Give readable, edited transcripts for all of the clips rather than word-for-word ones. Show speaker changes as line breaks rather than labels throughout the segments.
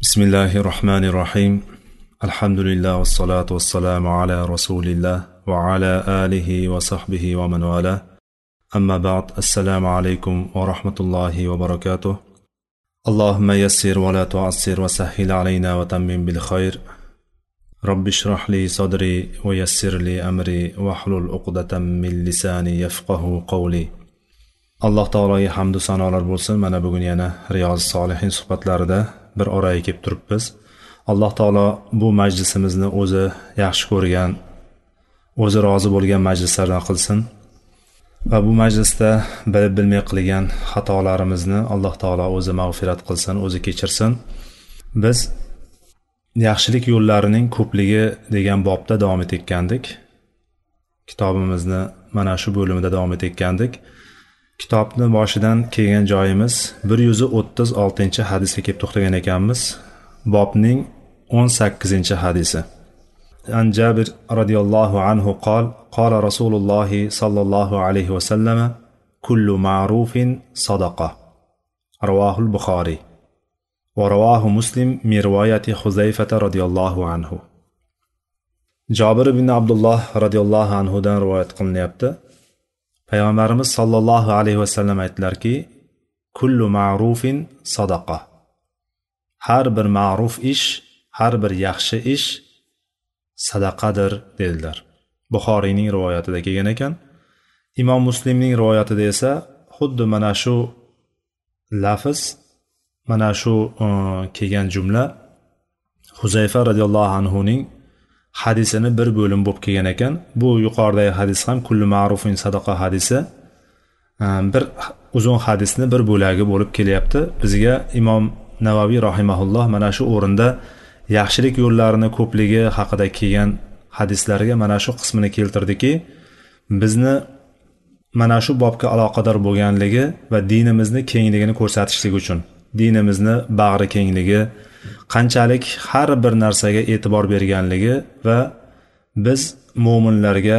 بسم الله الرحمن الرحيم الحمد لله والصلاة والسلام على رسول الله وعلى آله وصحبه ومن والاه أما بعد السلام عليكم ورحمة الله وبركاته اللهم يسر ولا تعسر وسهل علينا وتمم بالخير رب اشرح لي صدري ويسر لي أمري واحلل عقدة من لساني يفقه قولي alloh taologa hamdu sanolar bo'lsin. Mana bugun yana Riyoz solihin suhbatlarida bir oraga kelib turibmiz. Alloh taolo bu majlisimizni o'zi yaxshi ko'rgan, o'zi rozi bo'lgan majlislardan qilsin va bu majlisda bilib bilmay qilgan xatolarimizni Alloh taolo o'zi mag'firat qilsin, o'zi kechirsin. Biz yaxshilik yo'llarining ko'pligi degan bobda davom etayotgandik. Kitobimizni mana shu bo'limida davom etayotgandik. Kitobni boshidan kelgan joyimiz 136-hadisga kelib to'xtagan ekanmiz. Bobning 18-hadisi. An Jabir radhiyallohu anhu qala Rasululloh sallallohu alayhi va sallam kullu ma'rufin sadaqa. Ravahul Buxoriy va ravahu Muslim min rivoyati Huzayfa radhiyallohu anhu. Jabir ibn Abdullah radhiyallohu anhu dan rivoyat qilinyapti. Payg'ambarimiz sallallohu alayhi va sallam aytdilarki, kullu ma'rufin sadaqa. Har bir ma'ruf ish, har bir yaxshi ish sadaqadir dedilar. Buxoriyning rivoyatida kelgan ekan. Imom Muslimning rivoyatida esa xuddi mana shu lafz, mana shu kelgan jumla Huzayfa radhiyallohu anhu ning hadisini bir bo'lim bo'lib kelgan ekan. Bu yuqoridagi hadis ham kullu ma'rufin sadaqa hadisi bir uzun hadisni bir bo'lagi bo'lib kelyapti. Bizga Imom Navaviy rahimahulloh mana shu o'rinda yaxshilik yo'llarini ko'pligi haqida kelgan hadislarga mana shu qismini keltirdiki, bizni mana shu bobga aloqador bo'lganligi va dinimizni kengligini ko'rsatishlik uchun, dinimizni bag'ri kengligi, qanchalik har bir narsaga e'tibor berganligi va biz mo'minlarga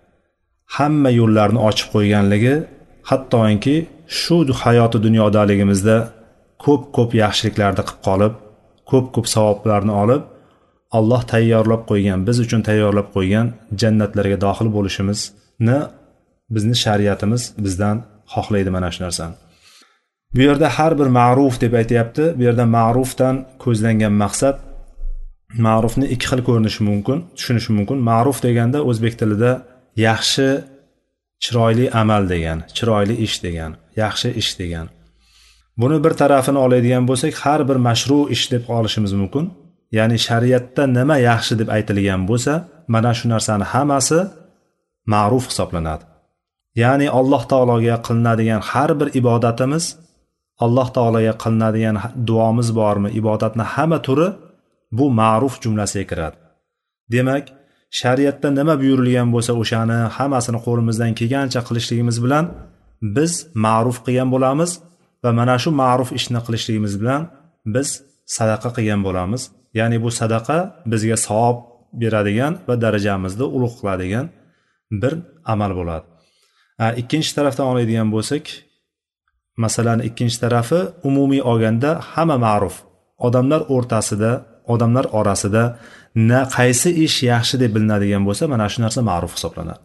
hamma yo'llarni ochib qo'yganligi, hattoki shu hayoti dunyodaligimizda ko'p yaxshiliklarni qilib qolib, ko'p savoblarni olib, Alloh tayyorlab qo'ygan, biz uchun tayyorlab qo'ygan jannatlarga daxil bo'lishimizni bizni shariatimiz bizdan xohlaydi mana shu narsani. Bu yerda har bir ma'ruf deb aytayapti. Bu yerda ma'rufdan ko'zlangan maqsad, ma'rufni ikki xil ko'rinishi mumkin, tushunish mumkin. Ma'ruf deganda o'zbek tilida yaxshi, chiroyli amal degan, chiroyli ish degan, yaxshi ish degan. Buni bir tarafini oladigan bo'lsak, har bir mashru ish deb olishimiz mumkin. Ya'ni shariatda nima yaxshi deb aytilgan bo'lsa, mana shu narsani hammasi ma'ruf hisoblanadi. Ya'ni Alloh taologa qilinadigan har bir ibodatimiz, Alloh taologa qilinadigan duomiz bormi, ibodatni hamma turi bu ma'ruf jumlasiga kiradi. Demak, shariatda nima buyurilgan bo'lsa, o'shani hammasini qo'limizdan kelgancha qilishligimiz bilan biz ma'ruf qilgan bo'lamiz va mana shu ma'ruf ishni qilishligimiz bilan biz sadaqa qilgan bo'lamiz. Ya'ni bu sadaqa bizga savob beradigan va darajamizni ulug' qiladigan bir amal bo'ladi. Ikkinchi tarafdan oladigan bo'lsak, masalan, ikkinchi tarafi umumiy olganda hamma ma'ruf. Odamlar o'rtasida, odamlar orasida qaysi ish yaxshi deb bilinadigan bo'lsa, mana shu narsa ma'ruf hisoblanadi.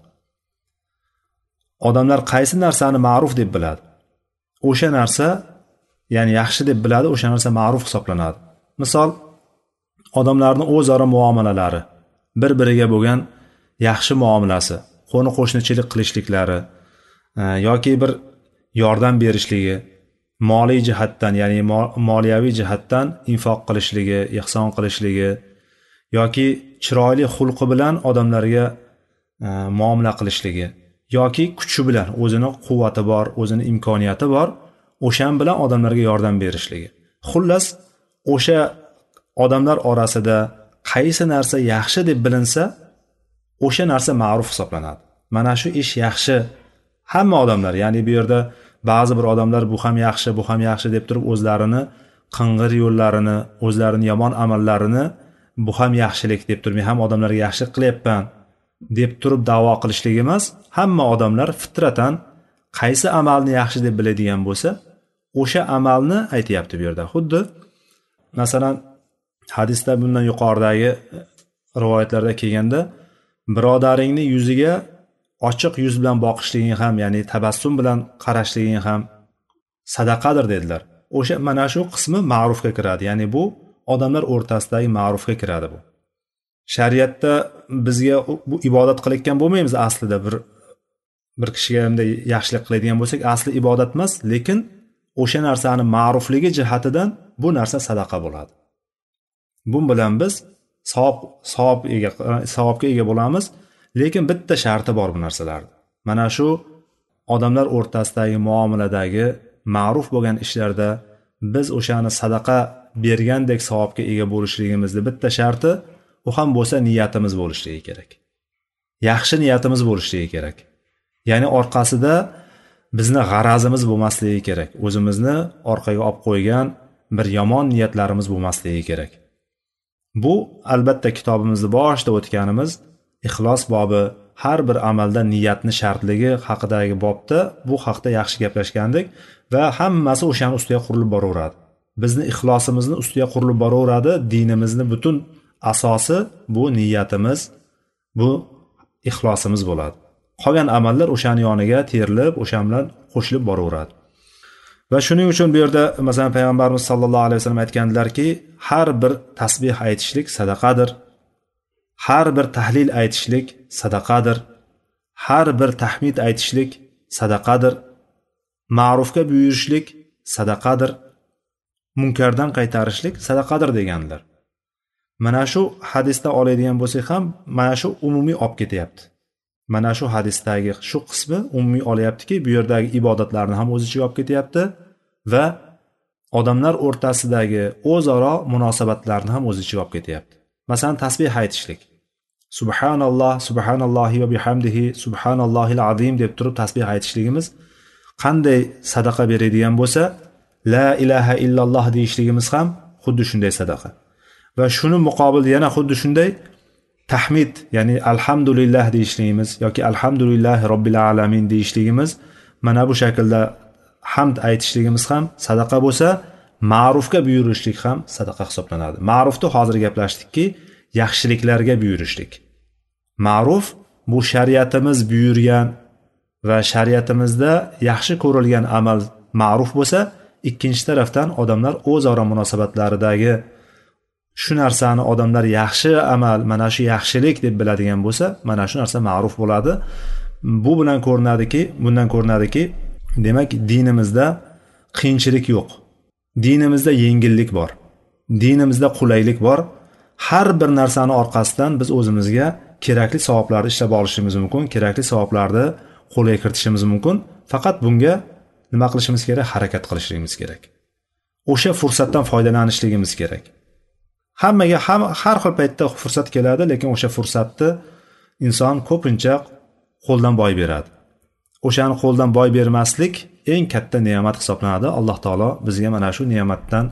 Odamlar qaysi narsani ma'ruf deb biladi, o'sha narsa, ya'ni yaxshi deb biladi, o'sha narsa ma'ruf hisoblanadi. Misol, odamlarning o'zaro muomalalari, bir-biriga bo'lgan yaxshi muomalasi, qo'ni-qo'shnichilik qilishliklari yoki bir yordam berishligi, moliy jihatdan, ya'ni moliyaviy jihatdan infoq qilishligi, ihson qilishligi yoki chiroyli xulqi bilan odamlarga muomala qilishligi yoki kuchi bilan, o'zini quvvati bor, o'zini imkoniyati bor, o'shan bilan odamlarga yordam berishligi. Xullas, o'sha odamlar orasida qaysi narsa yaxshi deb bilinsa, o'sha narsa ma'ruf hisoblanadi. Mana shu ish yaxshi. Hamma odamlar, ya'ni bu yerda ba'zi bir odamlar bu ham yaxshi, bu ham yaxshi deb turib o'zlarini qing'ir yo'llarini, o'zlarini yomon amallarini bu ham yaxshilik deb turib, men ham odamlarga yaxshilik qilyapman deb turib da'vo qilishlik emas. Hamma odamlar fitratan qaysi amalni yaxshi deb biladigan bo'lsa, o'sha amalni aytayapti bu yerda. Xuddi masalan hadisda bundan yuqoridagi rivoyatlarda kelganda birodaringni yuziga ochiq yuz bilan boqishliging ham, ya'ni tabassum bilan qarashliging ham sadaqadir dedilar. O'sha mana shu qismi ma'rufga kiradi. Ya'ni bu odamlar o'rtasidagi ma'rufga kiradi bu. Shariatda bizga bu ibodat qilayotgan bo'lmaymiz aslida, bir kishiga hamda yaxshilik qiladigan bo'lsak, asli ibodat emas, lekin o'sha narsani ma'rufligi jihatidan bu narsa sadaqa bo'ladi. Bu bilan biz savobga ega bo'lamiz, lekin bitta sharti bor bu narsalarda. Mana shu odamlar o'rtasidagi muomaladagi ma'ruf bo'lgan ishlarda biz o'shani sadaqa bergandek savobga ega bo'lishligimizni bitta sharti, u ham bo'lsa niyatimiz bo'lishligi kerak. Yaxshi niyatimiz bo'lishligi kerak. Ya'ni orqasida bizni g'arazimiz bo'lmasligi kerak. O'zimizni orqaga olib qo'ygan bir yomon niyatlarimiz bo'lmasligi kerak. Bu albatta kitobimizda boshida o'tganimiz ixlos bobi, har bir amalda niyatni shartligi haqidagi bobda bu haqda yaxshi gaplashgandik va hammasi o'shaning ustiga qurilib boraveradi. Bizni ixlosimizni ustiga qurilib boraveradi. Dinimizni butun asosi bu niyatimiz, bu ixlosimiz bo'ladi. Qolgan amallar o'shaning yoniga terilib, o'sha bilan qo'shilib boraveradi. Va shuning uchun bu yerda masalan payg'ambarimiz sollallohu alayhi vasallam aytganlarki, har bir tasbih aytishlik sadaqadir. Har bir tahlil aytishlik sadaqadir. Har bir tahmid aytishlik sadaqadir. Ma'rufga buyurishlik sadaqadir. Munkardan qaytarishlik sadaqadir deganlar. Mana shu hadisda oladigan bo'lsak ham mana shu umumiy olib ketyapti. Mana shu hadisdagi shu qismi umumiy olyaptiki, bu yerdagi ibodatlarni ham o'z ichiga olib ketyapti va odamlar o'rtasidagi o'zaro munosabatlarni ham o'z ichiga olib ketyapti. Masalan, tasbih aytishlik. Subhanalloh, subhanallohi va bihamdihi, subhanallohil azim deb turib tasbih aytishligimiz qanday sadaqa beradigan bo'lsa, la ilaha illalloh deyishligimiz ham xuddi shunday sadaqa. Va shuni muqobil yana xuddi shunday tahmid, ya'ni alhamdulillah deyishligimiz yoki alhamdulillahi robbil alamin deyishligimiz, mana bu shaklda hamd aytishligimiz ham sadaqa bo'lsa, ma'rufga buyurishlik ham sadaqa hisoblanadi. Ma'rufni hozir gaplashdikki, yaxshiliklarga buyurishlik. Ma'ruf bu shariatimiz buyurgan va shariatimizda yaxshi ko'rilgan amal ma'ruf bo'lsa, ikkinchi tarafdan odamlar o'zaro munosabatlaridagi shu narsani odamlar yaxshi amal, mana shu yaxshilik deb biladigan bo'lsa, mana shu narsa ma'ruf bo'ladi. Bu bilan bundan ko'rinadiki, demak dinimizda qiyinchilik yo'q. Dinimizda yengillik bor. Dinimizda qulaylik bor. Har bir narsani orqasidan biz o'zimizga kerakli savoblarni ishlab olishimiz mumkin, kerakli savoblarni qo'lga kiritishimiz mumkin. Faqat bunga nima qilishimiz kerak? Harakat qilishimiz kerak. O'sha fursatdan foydalanishligimiz kerak. Hammaga har xil paytda fursat keladi, lekin o'sha fursatni inson ko'pincha qo'ldan boy beradi. O'shani qo'ldan boy bermaslik eng katta ne'mat hisoblanadi. Alloh taolo bizga mana shu ne'matdan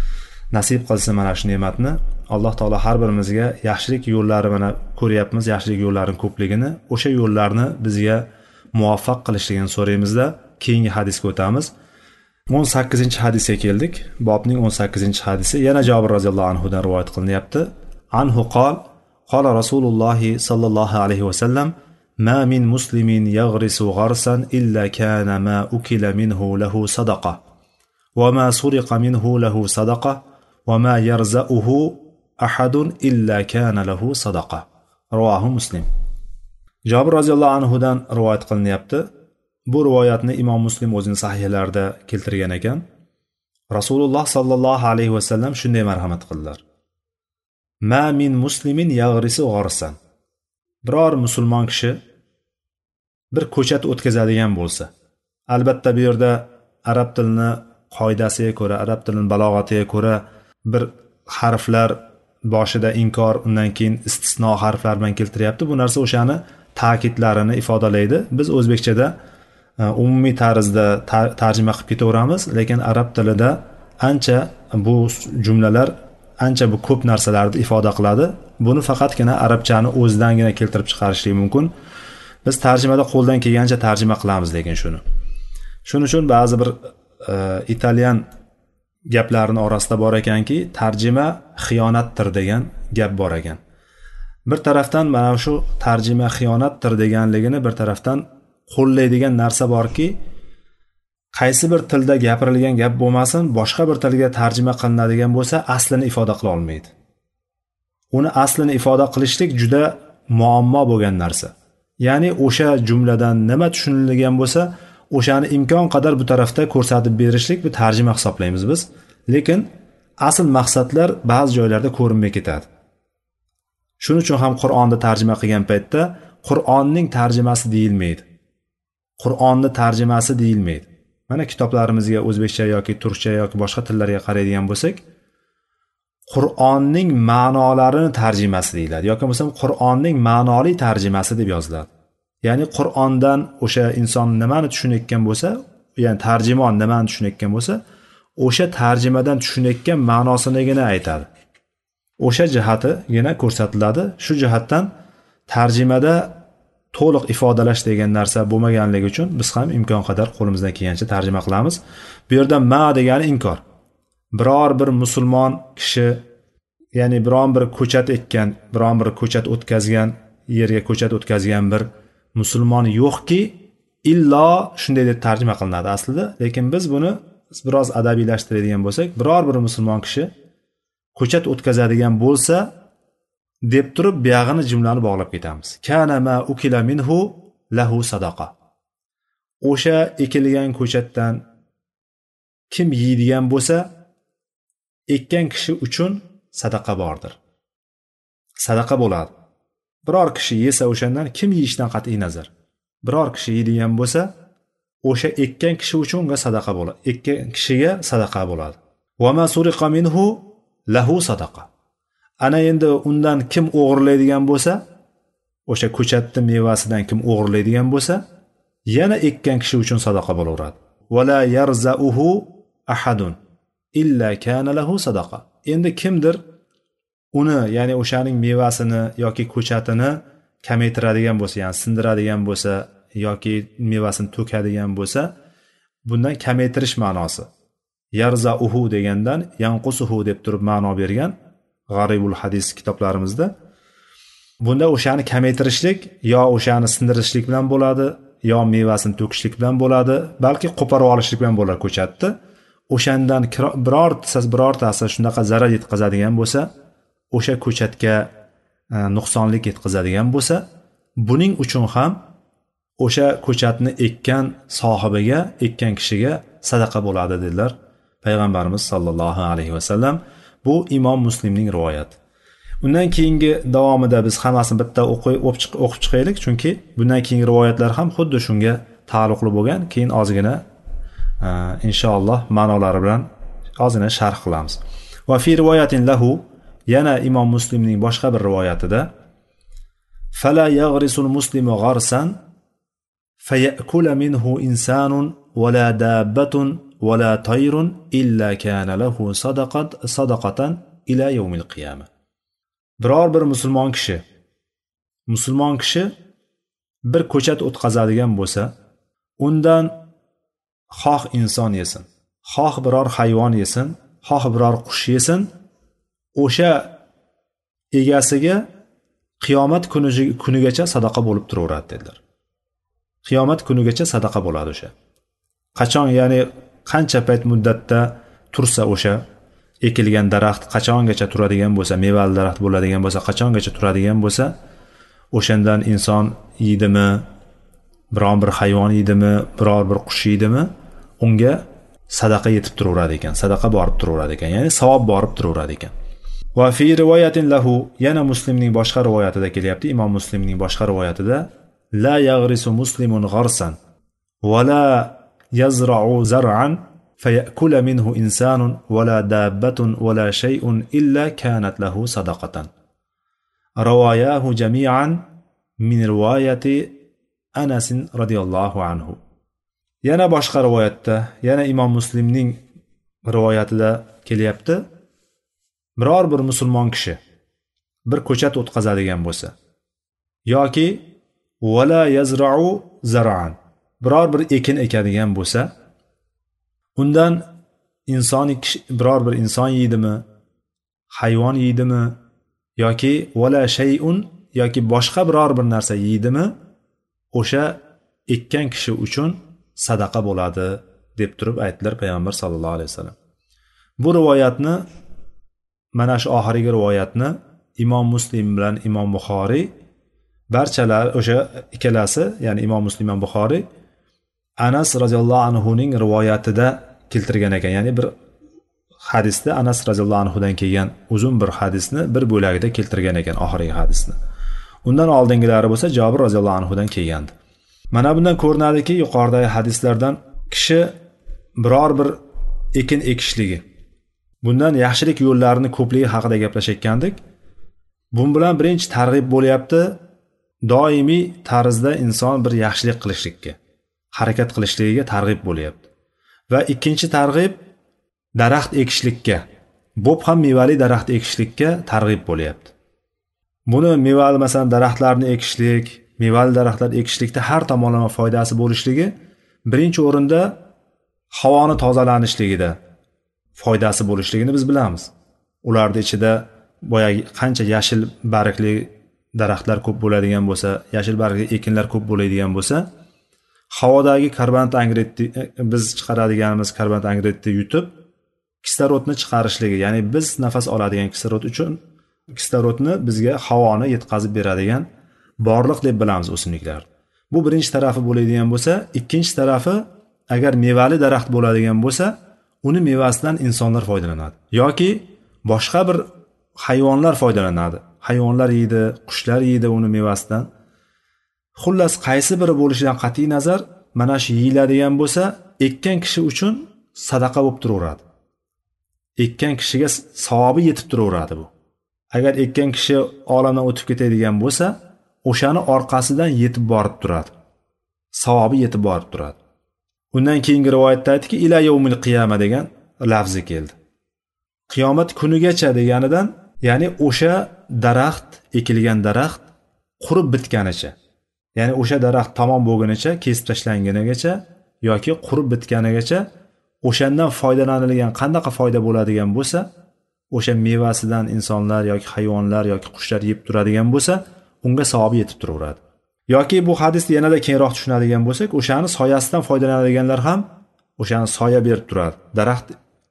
nasib qilsin. Mana shu ne'matni Alloh taolo har birimizga yaxshilik yo'llari mana ko'ryapmiz, yaxshilik yo'llarining ko'pligini, o'sha yo'llarni bizga muvaffaq qilishligini so'raymizda. Keyingi hadisga o'tamiz. 18-hadisga keldik. Bobning 18-hadisi yana Jabir roziyallohu anhu dan rivoyat qilinyapti. Anhu qala Rasululloh sallallohu alayhi va sallam: "Ma min muslimin yaghrisu gharsan illa kana ma ukila minhu lahu sadaqa, wa ma suriqa minhu lahu sadaqa, wa ma yarza'uhu ahadun illa kana lahu sadaqa." Rivohi Muslim. Jabir roziyallohu anhu dan rivoyat qilinyapti. Bu rivoyatni Imom Muslim o'zining sahihlarida keltirgan ekan. Rasululloh sallallohu alayhi va sallam shunday marhamat qildilar: "Ma min muslimin yaghrisu gharsan." Biror musulmon kishi bir ko'chat o'tkazadigan bo'lsa, albatta bu yerda arab tilini qoidasiga ko'ra, arab tilining balog'atiga ko'ra bir harflar boshida inkor, undan keyin istisno harflar bilan keltiryapti. Bu narsa o'shani ta'kidlarini ifodalaydi. Biz o'zbekchada umumiy tarzda tarjima qilib ketaveramiz, lekin arab tilida ancha bu jumlalar ancha bu ko'p narsalarni ifoda qiladi. Buni faqatgina arabchani o'zidangina keltirib chiqarishlik mumkin. Biz tarjimada qo'ldan kelgancha tarjima qilamiz, lekin shuning uchun ba'zi bir italyan gaplarini orasida bor ekanki, tarjima xiyonatdir degan gap bor ekan. Bir tarafdan mana shu tarjima xiyonatdir deganligini bir tarafdan qo'llaydigan narsa borki, qaysi bir tilda gapirilgan gap bo'lmasin, boshqa bir tilga tarjima qilinadigan bo'lsa, aslini ifoda qila olmaydi. Uni aslini ifoda qilishlik juda muammo bo'lgan narsa. Ya'ni o'sha jumladan nima tushunilgan bo'lsa, o'shani imkon qadar bu tarafda ko'rsatib berishlik bu tarjima hisoblaymiz biz. Lekin asl maqsadlar ba'zi joylarda ko'rinmay ketadi. Shuning uchun ham Qur'onni tarjima qilgan paytda Qur'onning tarjimasi deyilmaydi. Qur'onni tarjimasi deyilmaydi. Mana kitoblarimizga o'zbekcha yoki turkcha yoki boshqa tillarga qaraydigan bo'lsak, Qur'onning ma'nolarini tarjimasi deyiladi yoki bo'lmasa Qur'onning ma'noli tarjimasi deb yoziladi. Ya'ni Qur'ondan o'sha inson nimani tushunayotgan bo'lsa, ya'ni tarjimon nimani tushunayotgan bo'lsa, o'sha tarjimadan tushunayotgan ma'nosinigina aytadi. O'sha jihatigina ko'rsatiladi. Shu jihatdan tarjimada to'liq ifodalash degan narsa bo'lmaganligi uchun biz ham imkon qadar qo'limizdan kelgancha tarjima qilamiz. Bu yerda ma degani inkor. Biror bir musulmon kishi, ya'ni biron bir ko'chat ekkan, biron bir ko'chat o'tkazgan, yerga ko'chat o'tkazgan bir musulmon yo'qki, illo shunday deb tarjima qilinadi aslida. Lekin biz buni biroz adabiylashtiradigan bo'lsak, biror bir musulmon kishi ko'chat o'tkazadigan bo'lsa deb turib buyog'ini jumlani bog'lab ketamiz. Kana ma ukila minhu lahu sadaqa. O'sha ekilgan ko'chatdan kim yeydigan bo'lsa, ekkan kishi uchun sadaqa bordir. Sadaqa bo'ladi. Biror kishi yesa o'shandan kim yeyishdan qat'iy nazar. Biror kishi yeydigan bo'lsa, o'sha ekkan kishi uchun unga sadaqa bo'ladi. Ekkan kishiga sadaqa bo'ladi. Va ma suriqa minhu lahu sadaqa. Ana endi undan kim o'g'irlaydigan bo'lsa, o'sha ko'chatning mevasidan kim o'g'irlaydigan bo'lsa, yana ekkan kishi uchun sadaqa bo'laveradi. Va la yarzauhu ahadun illa kana lahu sadaqa. Endi kimdir uni, ya'ni o'shaning mevasini yoki ko'chatini kamaytiradigan bo'lsa, ya'ni sindiradigan bo'lsa yoki mevasini to'kadigan bo'lsa, bundan kamaytirish ma'nosi. Yarzauhu degandan yanqusuhu deb turib ma'no bergan G'aribul hadis kitoblarimizda. Bunda o'shani kamaytirishlik yo o'shani sindirishlik bilan bo'ladi, yo mevasini to'kishlik bilan bo'ladi, balki qo'porib olishlik bilan bo'lar ko'chatni. O'shandan birortasi shunaqa zarar yetkazadigan bo'lsa, o'sha ko'chatga nuqsonlik yetkazadigan bo'lsa, buning uchun ham o'sha ko'chatni ekkan sohibiga, ekkan kishiga sadaqa bo'ladi dedilar payg'ambarimiz sollallohu alayhi vasallam. Bu Imom Muslimning rivoyati. Undan keyingi davomida biz hammasini bitta o'qib chiqaylik, chunki bundan keyingi rivoyatlar ham xuddi shunga taalluqli bo'lgan. Keyin ozgina inshaalloh ma'nolari bilan ozgina sharh qilamiz. Va fi rivoyatin lahu, yana Imom Muslimning boshqa bir rivoyatida fala yaghrisul muslimu gharsan fayakula minhu insanun wala dabbatun wala tayrun illa kana lahu sadaqatan ila yawmil qiyamah. Biror bir musulmon kishi bir ko'chat o'tkazadigan bo'lsa, undan xoh inson yesin, xoh biror hayvon yesin, xoh biror qush yesin, o'sha egasiga qiyomat kunigacha sadaqa bo'lib turaveradi dedilar. Qiyomat kunigacha sadaqa bo'ladi o'sha. Qachon, ya'ni qancha payt muddatda tursa o'sha ekilgan daraxt qachongacha turadigan bo'lsa, mevali daraxt bo'ladigan bo'lsa, qachongacha turadigan bo'lsa, o'shandan inson yeydimi, biron bir hayvon yeydimi, biror bir qush yeydimi, unga sadaqa yetib turaveradi ekan, sadaqa borib turaveradi ekan, ya'ni savob borib turaveradi ekan. Va fi rivoyatin lahu, yana Muslimning boshqa rivoyatida kelyapti. Imom Muslimning boshqa rivoyatida la yaghrisu muslimun gharsan va la yazra'u zar'an fayakula minhu insanun va la dabbatun va la shay'un illa kanat lahu sadaqatan. Rawayahu jami'an min rivoyati Anas radhiyallohu anhu. Yana boshqa rivoyatda, yana Imom Muslimning rivoyatida kelyapti. Biror bir musulmon kishi bir ko'chat o'tkazadigan bo'lsa yoki wala yazra'u zar'an, biror bir ekin ekadigan bo'lsa, undan biror bir inson yeydimi, hayvon yeydimi yoki vala shay'un yoki boshqa biror bir narsa yeydimi, o'sha ekkan kishi uchun sadaqa bo'ladi deb turib aytdilar payg'ambar sallallohu alayhi vasallam. Bu rivoyatni, mana shu oxirgi rivoyatni Imom Muslim bilan Imom Buxoriy barchalar o'sha ikkalasi, ya'ni Imom Muslim va Buxoriy Anas roziyallohu anhu ning rivoyatida keltirgan ekan. Ya'ni bir hadisda Anas roziyallohu anhu dan kelgan uzun bir hadisni bir bo'lagida keltirgan ekan, oxirgi hadisni. Undan oldingilari bo'lsa Jabir roziyallohu anhu dan kelgandi. Mana bundan ko'rinadiki, yuqoridagi hadislardan kishi biror bir ekin ekishligi, bundan yaxshilik yo'llarini ko'pligi haqida gaplashayotgandik. Bu bilan birinchi targ'ib bo'lyapti, doimiy tarzda inson bir yaxshilik qilishlikka, harakat qilishligiga targ'ib bo'lyapti. Va ikkinchi targ'ib daraxt ekishlikka, bo'p ham mevali daraxt ekishlikka targ'ib bo'lyapti. Buni mevali, masalan, daraxtlarni ekishlik, mevali daraxtlar ekishlikda har tomonlama foydasi bo'lishligi, birinchi o'rinda havoni tozalanishligida foydasi bo'lishligini biz bilamiz. Ularda ichida boyagi qancha yashil bargli daraxtlar ko'p bo'ladigan bo'lsa, yashil bargli ekinlar ko'p bo'ladigan bo'lsa, havodagi karbonat angidridni, biz chiqaradiganimiz karbonat angidridni yutib kislorodni chiqarishligi, ya'ni biz nafas oladigan kislorod uchun kislorodni bizga havoni yetkazib beradigan borliq deb bilamiz o'simliklar. Bu birinchi tarafi bo'ladigan bo'lsa, ikkinchi tarafi agar mevali daraxt bo'ladigan bo'lsa, uni mevasidan insonlar foydalanadi yoki boshqa bir hayvonlar foydalanadi. Hayvonlar yeydi, qushlar yeydi uni mevasidan. Xullas qaysi biri bo'lishidan qat'iy nazar, mana shu yeyiladigan bo'lsa, ekkan kishi uchun sadaqa bo'lib turaveradi. Ekkan kishiga savobi yetib turaveradi bu. Agar ekkan kishi olamdan o'tib ketadigan bo'lsa, o'shani orqasidan yetib borib turadi. Savobi yetib borib turadi. Undan keyingi rivoyatda aytdiki, ila yawmil qiyama degan lafzi keldi. Qiyomat kunigacha deganidan, ya'ni o'sha daraxt, ekilgan daraxt qurib bitganicha, ya'ni o'sha daraxt tamom bo'lgunicha, kesib tashlangunigacha yoki qurib bitganigacha, o'shandan foydalanilgan qandaqa foyda bo'ladigan bo'lsa, o'sha mevasidan insonlar yoki hayvonlar yoki qushlar yeb turadigan bo'lsa, unga savobi yetib turaveradi. Yoki bu hadisni yanada kengroq tushunadigan bo'lsak, o'shani soyasidan foydalanadiganlar ham o'shani soya berib turadi. Daraxt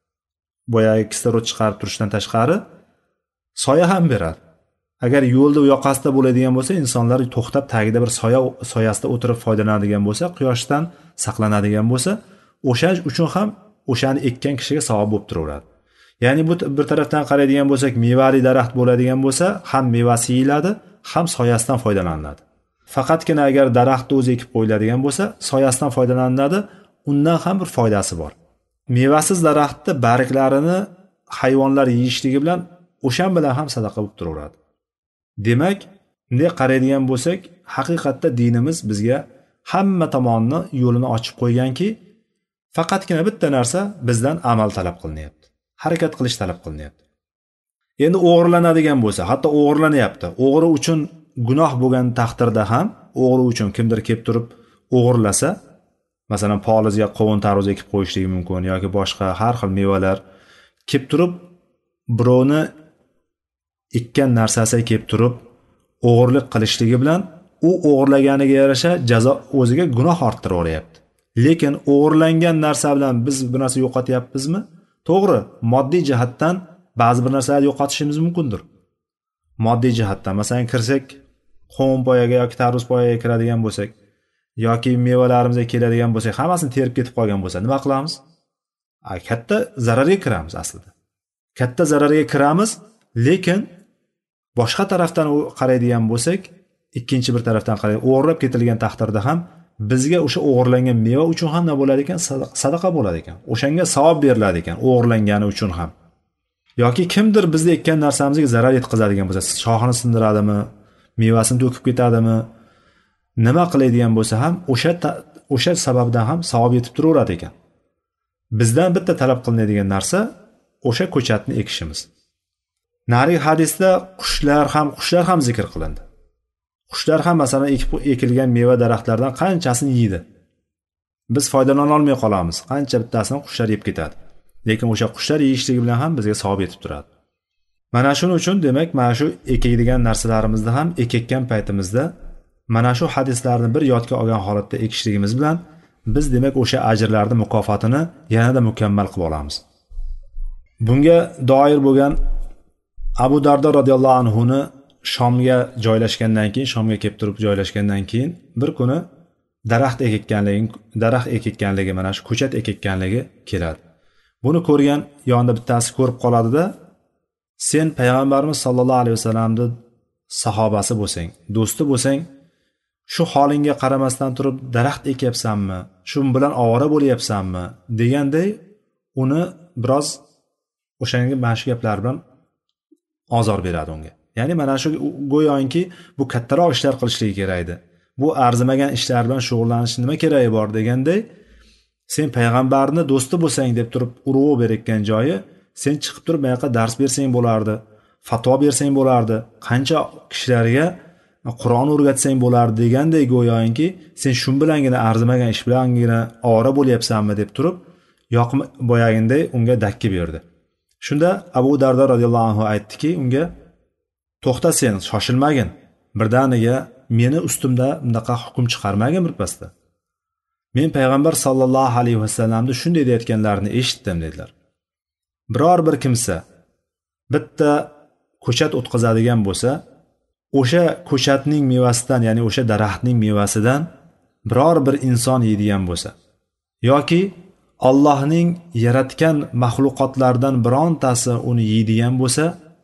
boyagi kislorod chiqarib turishdan tashqari soya ham beradi. Agar yo'lda u yoqasida bo'ladigan bo'lsa, insonlar to'xtab tagida bir soyasida o'tirib foydalanadigan bo'lsa, quyoshdan saqlanadigan bo'lsa, o'sha uchun ham o'shani ekkan kishiga savob bo'lib turaveradi. Ya'ni bu bir tarafdan qaraydigan bo'lsak, mevali daraxt bo'ladigan bo'lsa, ham mevasi yeyiladi, ham soyasidan foydalaniladi. Faqatgina agar daraxtni o'zi ekib qo'yiladigan bo'lsa, soyasidan foydalaniladi, undan ham bir foydasi bor. Mevasiz daraxtni barglarini hayvonlar yeyishligi bilan o'shan bilan ham sadaqa bo'lib turaveradi. Demak, bunday qaraydigan bo'lsak, haqiqatda dinimiz bizga hamma tomonni yo'lini ochib qo'yganki, faqatgina bitta narsa bizdan amal talab qilinyapti. Harakat qilish talab qilinyapti. Endi o'g'irlanadigan bo'lsa, hatto o'g'irlanyapti. O'g'ri uchun gunoh bo'lgan taqdirda ham, o'g'ri uchun kimdir kelib turib o'g'irlasa, masalan, polizga qovun tarvuz ekib qo'yishligi mumkin yoki boshqa har xil mevalar kelib turib birovni ekkan narsasiga kelib turib o'g'irlik qilishligi bilan u o'g'irlaganiga yarasha jazo o'ziga gunoh orttiraveryapti. Lekin o'g'irlangan narsa bilan biz bir narsa yo'qotyapmizmi? To'g'ri, moddiy jihatdan ba'zi bir narsalarni yo'qotishimiz mumkindir. Moddiy jihatdan, masalan, kirsak, qovun poyaga yoki tarvuz poyaga kiradigan bo'lsak, yoki mevalarimizga keladigan bo'lsak, hammasini terib ketib qolgan bo'lsa, nima qilamiz? Katta zararga kiramiz aslida. Katta zararga kiramiz, lekin boshqa tarafdan qaraydigan bo'lsak, ikkinchi bir tarafdan qaraydigan, o'g'irlab ketilgan taqdirda ham bizga o'sha o'g'irlangan meva uchun ham nima bo'ladi ekan? Sadaqa bo'ladi ekan. O'shanga savob beriladi ekan, o'g'irlangani uchun ham. Yoki kimdir bizga ekkan narsamizga zarar yetkazadigan bo'lsa, shoxini sindiradimi, mevasini to'kib ketadimi, nima qiladigan bo'lsa ham o'sha sababdan ham savob yetib turaveradi ekan. Bizdan bitta talab qilinadigan narsa o'sha ko'chatni ekishimiz. Narigi hadisda qushlar ham zikr qilindi. Qushlar ham masalan ekilgan meva daraxtlardan qanchasini yeydi. Biz foydalana olmay qolamiz. Qancha bittasini qushlar yeb ketadi. lekin o'sha qushlar yeyishligi bilan ham bizga savob yetib turadi. Mana shuning uchun demak mana shu ekadigan narsalarimizni ham ekayotgan paytimizda mana shu hadislarni bir yodga olgan holatda ekishligimiz bilan biz demak o'sha ajrlarning mukofotini yanada mukammal qilib olamiz. Bunga doir bo'lgan Abu Dardo radhiyallohu anhu ni Shomga joylashgandan keyin, Shomga kelib turib joylashgandan keyin bir kuni daraxt ekayotganligi, mana shu ko'chat ekayotganligi keladi. Buni ko'rgan yonida bittasi ko'rib qoladi-da, sen payg'ambarimiz sollallohu alayhi vasallamning sahobasi bo'lsang, do'sti bo'lsang, shu holingga qaramasdan turib daraxt ekyapsanmi, shu bilan ovora bo'lyapsanmi deganday uni biroz o'shanga mana shu gaplar bilan ozor beradi unga. Ya'ni mana shu go'yoki bu kattaroq ishlar qilishligi kerak edi. Bu arzimagan ishlar bilan shug'ullanish nima keragi bor deganday, sen payg'ambarni do'sti bo'lsang deb turib urg'u berayotgan joyi, sen chiqib turib bu yoqqa dars bersang bo'lardi, fatvo bersang bo'lardi, qancha kishilarga Qur'on o'rgatsang bo'lardi deganday go'yoki sen shu bilangina arzimagan ish bilangina ovora bo'lyapsanmi deb turib boyaginday unga dakki berdi. Shunda Abu Dardo radhiyallohu anhu aytdiki unga, to'xta, sen shoshilmagin, birdaniga meni ustimda bunaqa hukm chiqarmagin birpasda. Men payg'ambar sallallohu alayhi vasallamni shunday deyotganlarini eshitdim dedilar. Biror bir kimsa bitta ko'chat o'tqazadigan bo'lsa, o'sha ko'chatning mevasidan, ya'ni o'sha daraxtning mevasidan biror bir inson yeydigan bo'lsa yoki Allohning yaratgan mahluqotlardan birontasi uni yeydigan bo'lsa,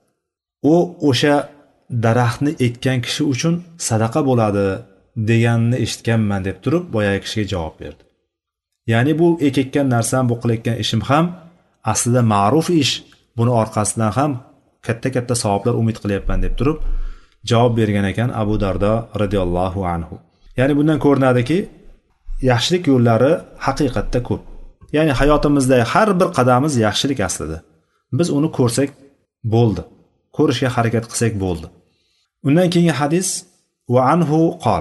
u o'sha daraxtni ekkan kishi uchun sadaqa bo'ladi deganini eshitganman deb turib boyagi kishiga javob berdi. Ya'ni bu ekayotgan narsam, bu qilayotgan ishim ham aslida ma'ruf ish, buni orqasidan ham katta savoblar umid qilyapman deb turib javob bergan ekan Abu Dardo radhiyallohu anhu. Ya'ni bundan ko'rinadiki, yaxshilik yo'llari haqiqatda ko'p. Ya'ni hayotimizda har bir qadamimiz yaxshilik aslida. Biz uni ko'rsak bo'ldi. Ko'rishga harakat qilsak bo'ldi. Undan keyingi hadis va anhu qol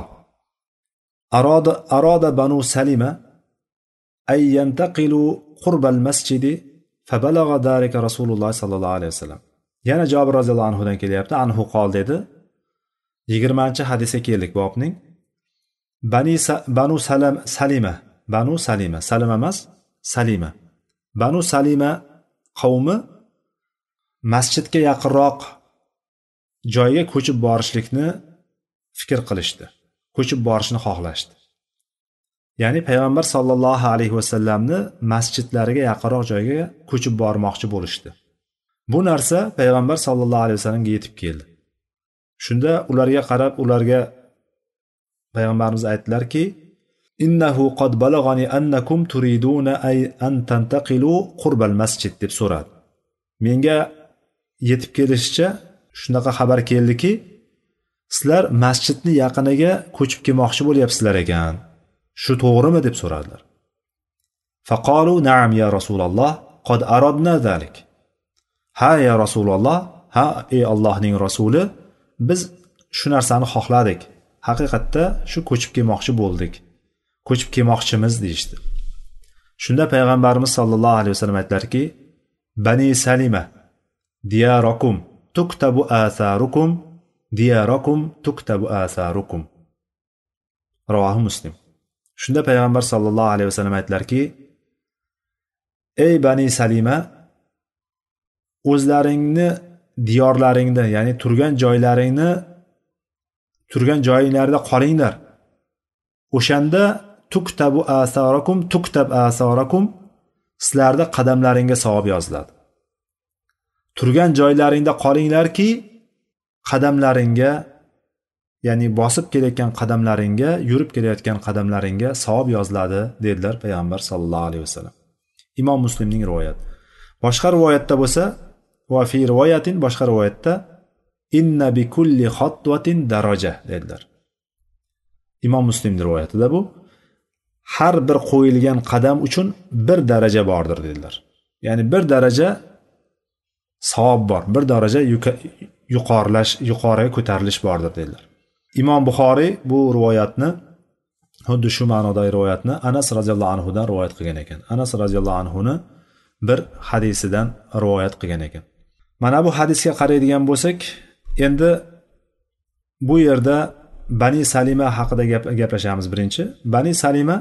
arada banu salima ay yantaqilu qurba al-masjid fabalagha dalika Rasululloh sallallohu alayhi vasallam. Yana Jabir roziyallohu anhu dan kelyapti. Anhu qol dedi. 20-hadisga keldik bobning. Banu Salima qavmi masjidga yaqinroq joyga ko'chib borishlikni fikr qilishdi. Ko'chib borishni xohlashdi. Ya'ni payg'ambar sallallohu alayhi vasallamni masjidlariga yaqinroq joyga ko'chib bormoqchi bo'lishdi. Bu narsa payg'ambar sallallohu alayhi vasallamga yetib keldi. Shunda ularga qarab, ularga payg'ambarimiz aytdilarki, innahu qad balagani annakum turiduna ay an tantaqilu qurbal masjid deb so'radi. Menga yetib kelishicha shunaqa xabar keldiki, sizlar masjidni yaqiniga ko'chib kelmoqchi bo'lyapsizlar ekan. Shu to'g'rimi deb so'radilar. Faqalu na'am ya Rasululloh, qad aradna zalik. Ha ya Rasululloh, ha ey Allohning rasuli, biz shu narsani xohladik. Haqiqatda shu ko'chib kelmoqchi bo'ldik. Ko'chib kelmoqchimiz deyishdi. Shunda payg'ambarimiz sallallohu alayhi vasallam aytdilarki, Bani Salima diyarakum tuktabu atharukum diyarakum tuktabu atharukum. Rivohi Muslim. Shunda payg'ambar sallallohu alayhi vasallam aytdilarki, ey Bani Salima, o'zlaringni diyorlaringda, ya'ni turgan joyinglarda qolinglar. O'shanda tuktabu asarakum tuktab asarakum, sizlarda qadamlaringga savob yoziladi. Turgan joylaringda qolinglarki, qadamlaringga, ya'ni bosib kelayotgan qadamlaringga, yurib kelayotgan qadamlaringga savob yoziladi dedilar payg'ambar sallallohu alayhi vasallam. Imom Muslimning rivoyati. Boshqa rivoyatda bo'lsa, va fi rivoyatin, boshqa rivoyatda inna bi kulli xatwatin daraja dedilar. Imom Muslimning rivoyatida bu har bir qo'yilgan qadam uchun bir daraja bordir dedilar. Ya'ni bir daraja savob bor, bir daraja yuqoriga ko'tarilish bordir dedilar. Imom Buxoriy bu rivoyatni, xuddi shu ma'nodagi rivoyatni Anas roziyallohu anhu dan rivoyat qilgan ekan. Anas roziyallohu anhu ni bir hadisidan rivoyat qilgan ekan. Mana bu hadisga qaraydigan bo'lsak, endi bu yerda Bani Salima haqida gaplashamiz. Birinchi, Bani Salima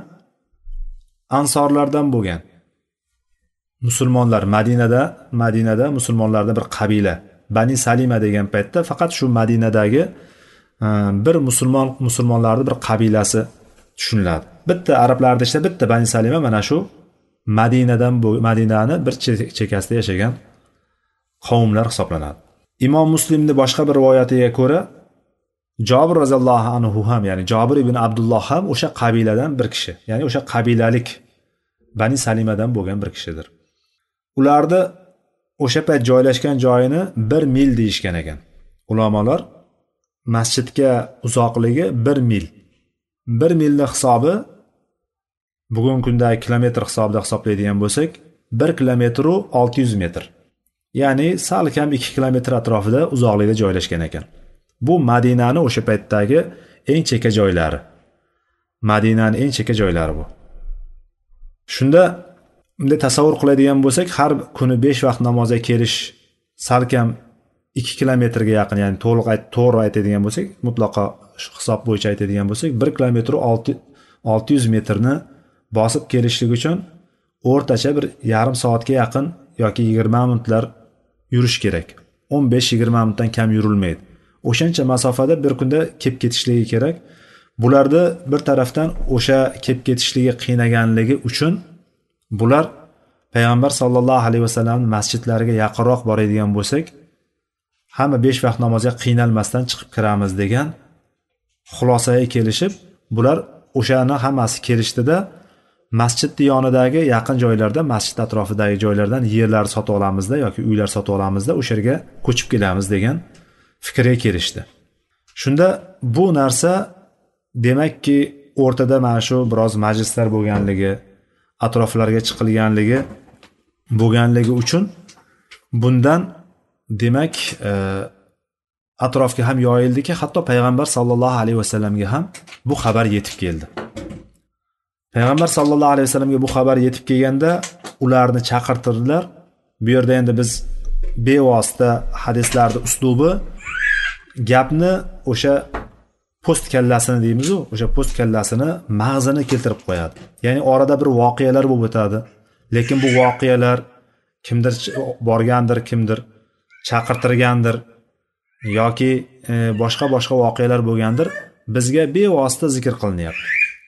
ansorlardan bo'lgan. Musulmonlar Madinada musulmonlarning bir qabila. Bani Salima degan paytda faqat shu Madinadagi bir musulmonlarning bir qabilasi tushuniladi. Bitta arablarda ishda bitta Bani Salima mana shu Madinani bir chekkasida yashagan qavmlar hisoblanadi. Imom Muslimning boshqa bir rivoyatiga ko'ra Jabir roziyallohu anhu ham, ya'ni Jabir ibn Abdulloh ham o'sha qabiladan bir kishi, ya'ni o'sha qabilalik Bani Salimadan bo'lgan bir kishidir. Ularni o'sha payt joylashgan joyini 1 mil deyishgan ekan. Ulamolar masjidga uzoqligi 1 mil. 1 milning hisobi bugungi kundagi kilometr hisobida hisoblaydigan bo'lsak, 1 kilometr 600 metr. Ya'ni sal kam 2 kilometr atrofida uzoqlikda joylashgan ekan. Bu Madinani o'sha paytdagi eng chekka joylari. Madinaning eng chekka joylari bu. Shunda bunday tasavvur qiladigan bo'lsak, har kuni 5 vaqt namozga kelish salkam 2 kilometrga yaqin, ya'ni to'g'ri aytadigan bo'lsak, mutlaqo hisob bo'yicha aytadigan bo'lsak, 1 kilometr 600 metrni bosib kelishlik uchun o'rtacha bir yarim soatga yaqin yoki 20 minutlar yurish kerak. 15-20 minutdan kam yurilmaydi. O'shancha masofada bir kunda kelib ketishligi kerak. Bularda bir tarafdan o'sha kelib ketishligi qiynaganligi uchun bular payg'ambar sallallohu alayhi vasallamning masjidlariga yaqinroq boradigan bo'lsak, hamma 5 vaqt namozga qiynalmasdan chiqib kiramiz degan xulosaga kelishib, bular o'shani hammasi kelishdida masjidning yonidagi yaqin joylarda, masjid atrofidagi joylardan yerlar sotib olamizda yoki uylar sotib olamizda, o'sha yerga ko'chib kelamiz degan fikrga kelishdi. Shunda bu narsa demakki o'rtada mana shu biroz majlislar bo'lganligi, atroflarga chiqilganligi uchun bundan demak atrofga ham yoyildiki, hatto payg'ambar sallallohu alayhi vasallamga ham bu xabar yetib keldi. Payg'ambar sallallohu alayhi vasallamga bu xabar yetib kelganda ularni chaqirtirdilar. Bu yerda endi biz bevosita hadislarda uslubi gapni o'sha post kallasini deymiz-ku, o'sha post kallasini mag'zini keltirib qo'yadi. Ya'ni orada bir voqealar bo'lib o'tadi, lekin bu voqealar kimdir borgandir, kimdir chaqirtirgandir yoki boshqa voqealar bo'lgandir, bizga bevosita zikr qilinyapti.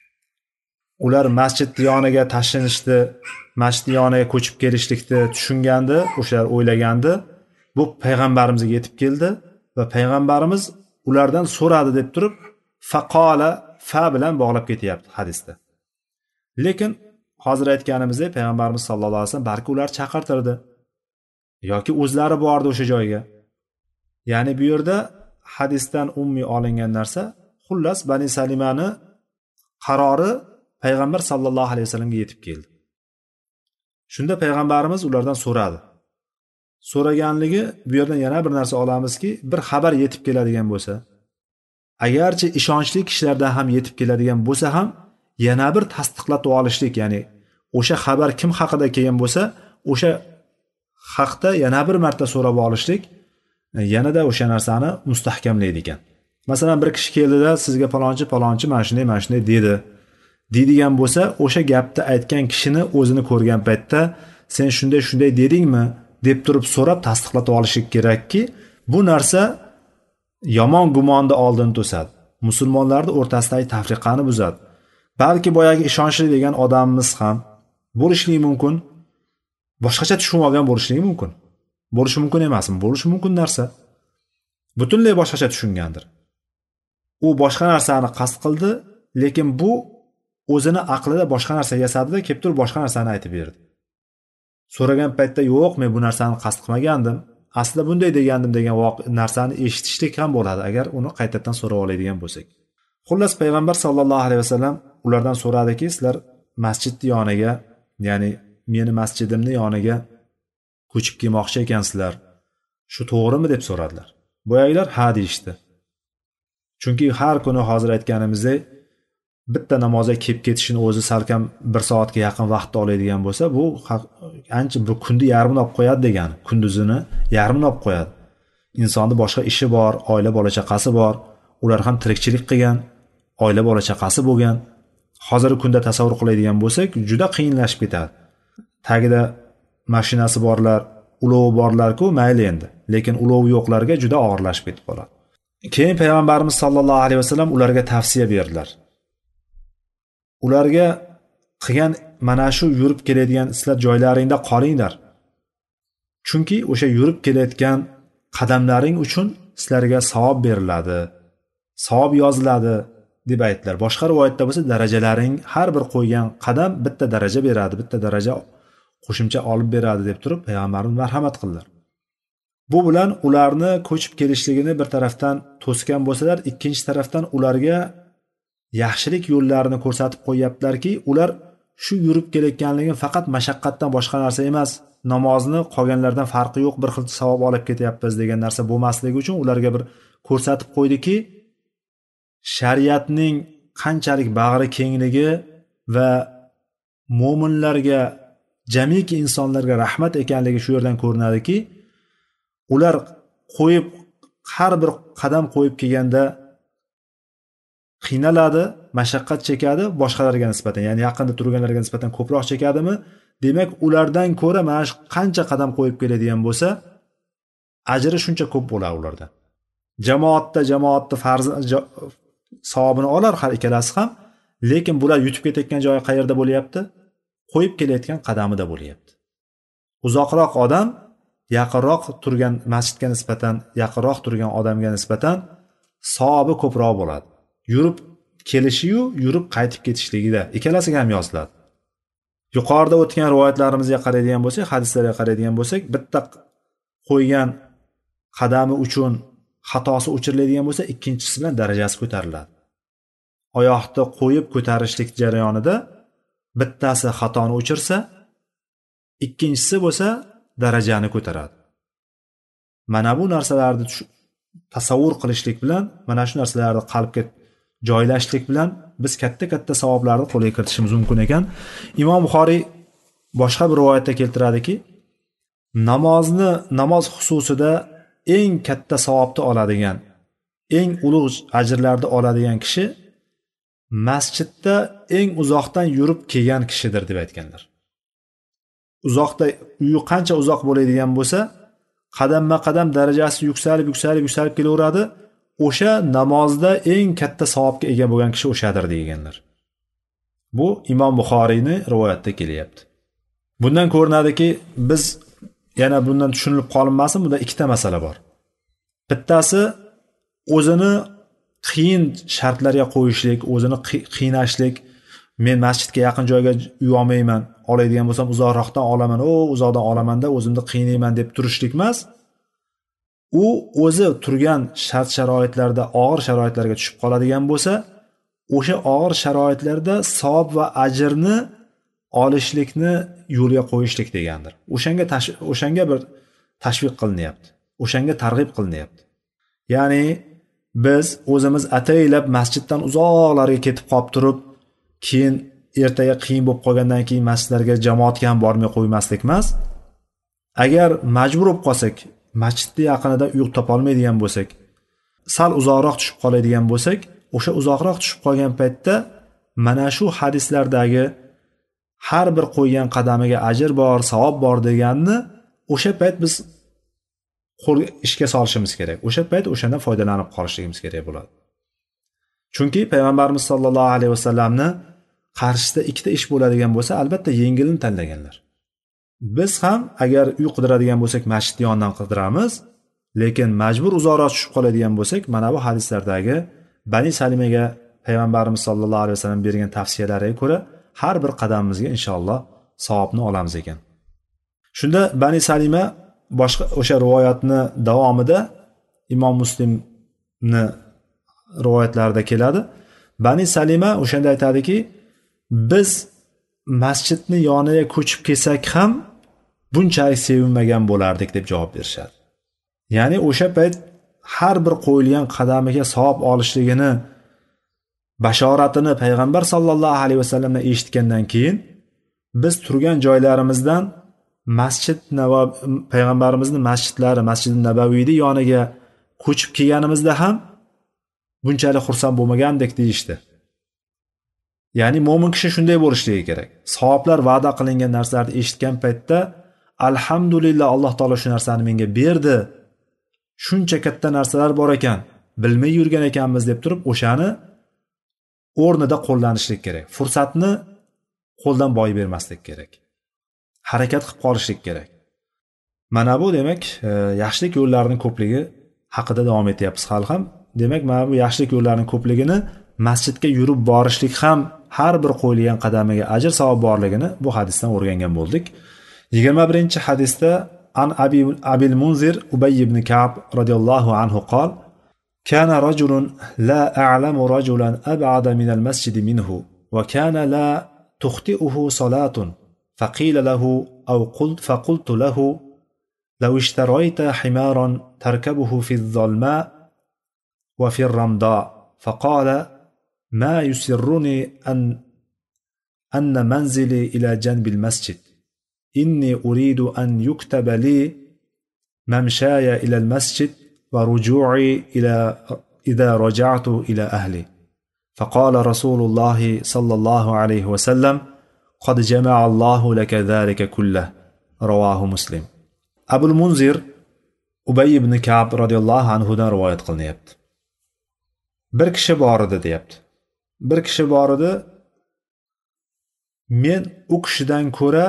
Ular masjid yoniga tashlanishdi, masjid yoniga ko'chib kelishlikni tushungandi, o'shalar o'ylagandi. Bu payg'ambarimizga yetib keldi va payg'ambarimiz ulardan so'radi deb turib, faqola fa bilan bog'lab ketyapti hadisda. Lekin hozir aytganimizdek payg'ambarimiz sallallohu alayhi vasallam balki ular chaqirtirdi yoki o'zlari bordi o'sha joyga. Ya'ni bu yerda hadisdan umumiy olingan narsa, xullas Bani Salimani qarori payg'ambar sallallohu alayhi vasallamga yetib keldi. Shunda payg'ambarimiz ulardan so'radi. So'raganligi bu yerdan yana bir narsa olamizki, bir xabar yetib keladigan bo'lsa, agarchi ishonchli kishilardan ham yetib keladigan bo'lsa ham, yana bir tasdiqlatib olishlik, ya'ni o'sha xabar kim haqida kelgan bo'lsa, o'sha haqda yana bir marta so'rab olishlik yanada o'sha narsani mustahkamlaydi ekan. Masalan, bir kishi keldida sizga palonchi mana shunday dedi. Deydigan bo'lsa, o'sha gapni aytgan kishini o'zini ko'rgan paytda sen shunday dedingmi deb turib so'rab tasdiqlatib olishi kerakki, bu narsa yomon gumonni oldini to'sadi. Musulmonlarning o'rtasidagi tafriqani buzadi. Balki boyagi ishonchli degan odamimiz ham bo'lishligi mumkin, boshqacha tushunib olgan bo'lishligi mumkin. Bo'lishi mumkin emasmi? Bo'lishi mumkin narsa. Butunlay boshqacha tushungandir. U boshqa narsani qasd qildi, lekin bu o'zini aqlida boshqa narsa yasadida, kelib turib boshqa narsani aytib berdi. So'ragan paytda yo'q, men bu narsani qasd qilmagandim, aslida bunday degandim degan narsani eshitishlik ham bo'ladi agar uni qaytadan so'rab oladigan bo'lsak. Xullas payg'ambar sallallohu alayhi vasallam ulardan so'radiki, sizlar masjidning yoniga, ya'ni meni masjidimning yoniga ko'chib kelmoqchi ekansizlar. Shu to'g'rimi deb so'radilar. Boyagilar ha deyishdi. Chunki har kuni hozir aytganimizdek bitta namozga kelib ketishini o'zi salkam 1 soatga yaqin vaqt oladigan bo'lsa, bu ancha bir kunni yarmini olib qo'yadi degani. Kunduzini yarmini olib qo'yadi. Insonni boshqa ishi bor, oila bola chaqasi bor, ular ham tirikchilik qilgan, oila bola chaqasi bo'lgan. Hozirgi kunda tasavvur qiladigan bo'lsak, juda qiyinlashib ketadi. Tagida mashinasi borlar, ulovi borlar-ku, mayli endi. Lekin ulovi yo'qlarga juda og'irlashib ketib qoladi. Keyin payg'ambarimiz sollallohu alayhi vasallam ularga tavsiya berdilar. Ularga qilgan mana shu yurib keladigan sizlar joylaringda qolinglar. Chunki o'sha yurib kelayotgan qadamlaring uchun sizlarga savob beriladi. Savob yoziladi deb aytdilar. Boshqa rivoyatda bo'lsa darajalaring har bir qo'ygan qadam bitta daraja beradi, bitta daraja qo'shimcha olib beradi deb turib payg'ambarimiz marhamat qildilar. Bu bilan ularni ko'chib kelishligini bir tarafdan to'sgan bo'lsalar, ikkinchi tarafdan ularga yaxshilik yo'llarini ko'rsatib qo'yaptilarki, ular shu yurib kelayotganligi faqat mashaqqatdan boshqa narsa emas, namozni qolganlardan farqi yo'q, bir xil savob olib ketyapmiz degan narsa bo'lmasligi uchun ularga bir ko'rsatib qo'ydiki, shariatning qanchalik bag'ri kengligi va mo'minlarga, jamiki insonlarga rahmat ekanligi shu yerdan ko'rinadiki, ular qo'yib har bir qadam qo'yib kelganda qiynaladi, mashaqqat chekadi boshqalarga nisbatan, ya'ni yaqinda turganlarga nisbatan ko'proq chekadimi? Demak, ulardan ko'ra mana shu qancha qadam qo'yib keladigan bo'lsa, ajri shuncha ko'p bo'ladi ulardan. Jamoatda farz savobini olar har ikkalasi ham, lekin bular yutib ketayotgan joyi qayerda bo'lyapti? Qo'yib kelayotgan qadamida bo'lyapti. Uzoqroq odam yaqinroq turgan masjidga nisbatan, yaqinroq turgan odamga nisbatan savobi ko'proq bo'ladi. Yurib kelishi-yu, yurib qaytib ketishligida ikkalasiga ham yoziladi. Yuqorida o'tgan rivoyatlarimizga qaraydigan bo'lsak, hadislarga qaraydigan bo'lsak, bitta qo'ygan qadami uchun xatosi o'chiriladigan bo'lsa, ikkinchisi bilan darajasi ko'tariladi. Oyoqni qo'yib ko'tarishlik jarayonida bittasi xatoni o'chirsa, ikkinchisi bo'lsa darajani ko'taradi. Mana bu narsalarni tasavvur qilishlik bilan, mana shu narsalarni qalbga joylashlik bilan biz katta savoblarni qo'lga kiritishimiz mumkin ekan. Imom Buxoriy boshqa bir rivoyatda keltiradiki, namoz xususida eng katta savobni oladigan, eng ulug' ajrlarni oladigan kishi masjidda eng uzoqdan yurib kelgan kishidir deb aytganlar. Uzoqda, uyi qancha uzoq bo'ladigan bo'lsa, qadamma-qadam darajasi yuksalib kelaveradi. O'sha namozda eng katta savobga ega bo'lgan kishi o'shadir deganlar. Bu Imom Buxoriyning rivoyatida kelyapti. Bundan ko'rinadiki, biz yana bundan tushunilib qolinmasin, bunda ikkita masala bor. Bittasi o'zini qiyin shartlarga qo'yishlik, o'zini qiynashlik. Men masjidga yaqin joyga uy olmayman, oladigan bo'lsam uzoqroqdan olaman, uzoqdan olamanda o'zimni qiynayman deb turishlik emas. U o'zi turgan shart-sharoitlarda og'ir sharoitlarga tushib qoladigan bo'lsa, o'sha og'ir sharoitlarda savob va ajrni olishlikni yo'lga qo'yishlik degandir. O'shanga bir tashviq qilinyapti. O'shanga targ'ib qilinyapti. Ya'ni biz o'zimiz ataylab masjiddan uzoqlarga ketib qolib turib, keyin ertaga qiyin bo'lib qolgandan keyin masjidlarga jamoatga ham bormay qo'ymaslik emas. Agar majbur bo'lib qolsak, masjidni yaqinida uy topa olmaydigan bo'lsak, sal uzoqroq tushib qoladigan bo'lsak, o'sha uzoqroq tushib qolgan paytda mana shu hadislardagi har bir qo'ygan qadamiga ajr bor, savob bor deganni o'sha payt biz ishga solishimiz kerak. O'sha payt o'shandan foydalanib qolishligimiz kerak bo'ladi. Chunki payg'ambarimiz sollallohu alayhi vasallamni qarshisida ikkita ish bo'ladigan bo'lsa, albatta yengilini tanlaganlar. Biz ham agar uy qidiradigan bo'lsak, masjid yonidan qidiramiz, lekin majbur uzoqroq tushib qoladigan bo'lsak, mana bu hadislardagi Bani Salimaga payg'ambarimiz sollallohu alayhi vasallam bergan tavsiyalariga ko'ra har bir qadamimizga inshaalloh savobni olamiz ekan. Shunda Bani Salima boshqa o'sha rivoyatni davomida Imom Muslimni rivoyatlarida keladi. Bani Salima o'shanda aytadiki, biz masjidni yoniga ko'chib kelsak ham bunchalik sevinmagan bo'lardik deb javob berishadi. Ya'ni o'sha payt har bir qo'yilgan qadamiga savob olishligini bashoratini payg'ambar sollallohu alayhi vasallamdan eshitgandan keyin biz turgan joylarimizdan payg'ambarimizni masjidlari, Masjidi Nabaviyni yoniga ko'chib kelganimizda ham bunchalik xursand bo'lmagandek deyishdi. Ya'ni mo'min kishi shunday bo'lishligi kerak. Savoblar va'da qilingan narsalarni eshitgan paytda alhamdulillah, Alloh taolo shu narsani menga berdi. Shuncha katta narsalar bor ekan, bilmay yurgan ekanmiz deb turib, o'shani o'rnida qo'llanishlik kerak. Fursatni qo'ldan boy bermaslik kerak. Harakat qilib qolishlik kerak. Mana bu demak, yaxshilik yo'llarining ko'pligi haqida davom etyapmiz hali ham. Demak, mana bu yaxshilik yo'llarining ko'pligini masjidga yurib borishlik ham har bir qo'yilgan qadamiga ajr savob borligini bu hadisdan o'rgangan bo'ldik. 21-hadisda an Abil Munzir Ubay ibn Ka'b radhiyallohu anhu qol: كان رجل لا أعلم رجلا أبعد من المسجد منه وكان لا تخطئه صلاة فقيل له فقلت له لو اشتريت حمارا تركبه في الظلماء وفي الرمضاء فقال ما يسرني أن منزلي إلى جنب المسجد إني أريد أن يكتب لي ممشاي إلى المسجد ورجوعي إذا رجعت إلى أهلي فقال رسول الله صلى الله عليه وسلم قد جمع الله لك ذلك كله رواه مسلم. Abul Munzir Ubay ibn Ka'b radhiyallohu anhu dan rivoyat qilinyapti. Bir kishi bor edi deyapti. Bir kishi bor edi, men u kishidan ko'ra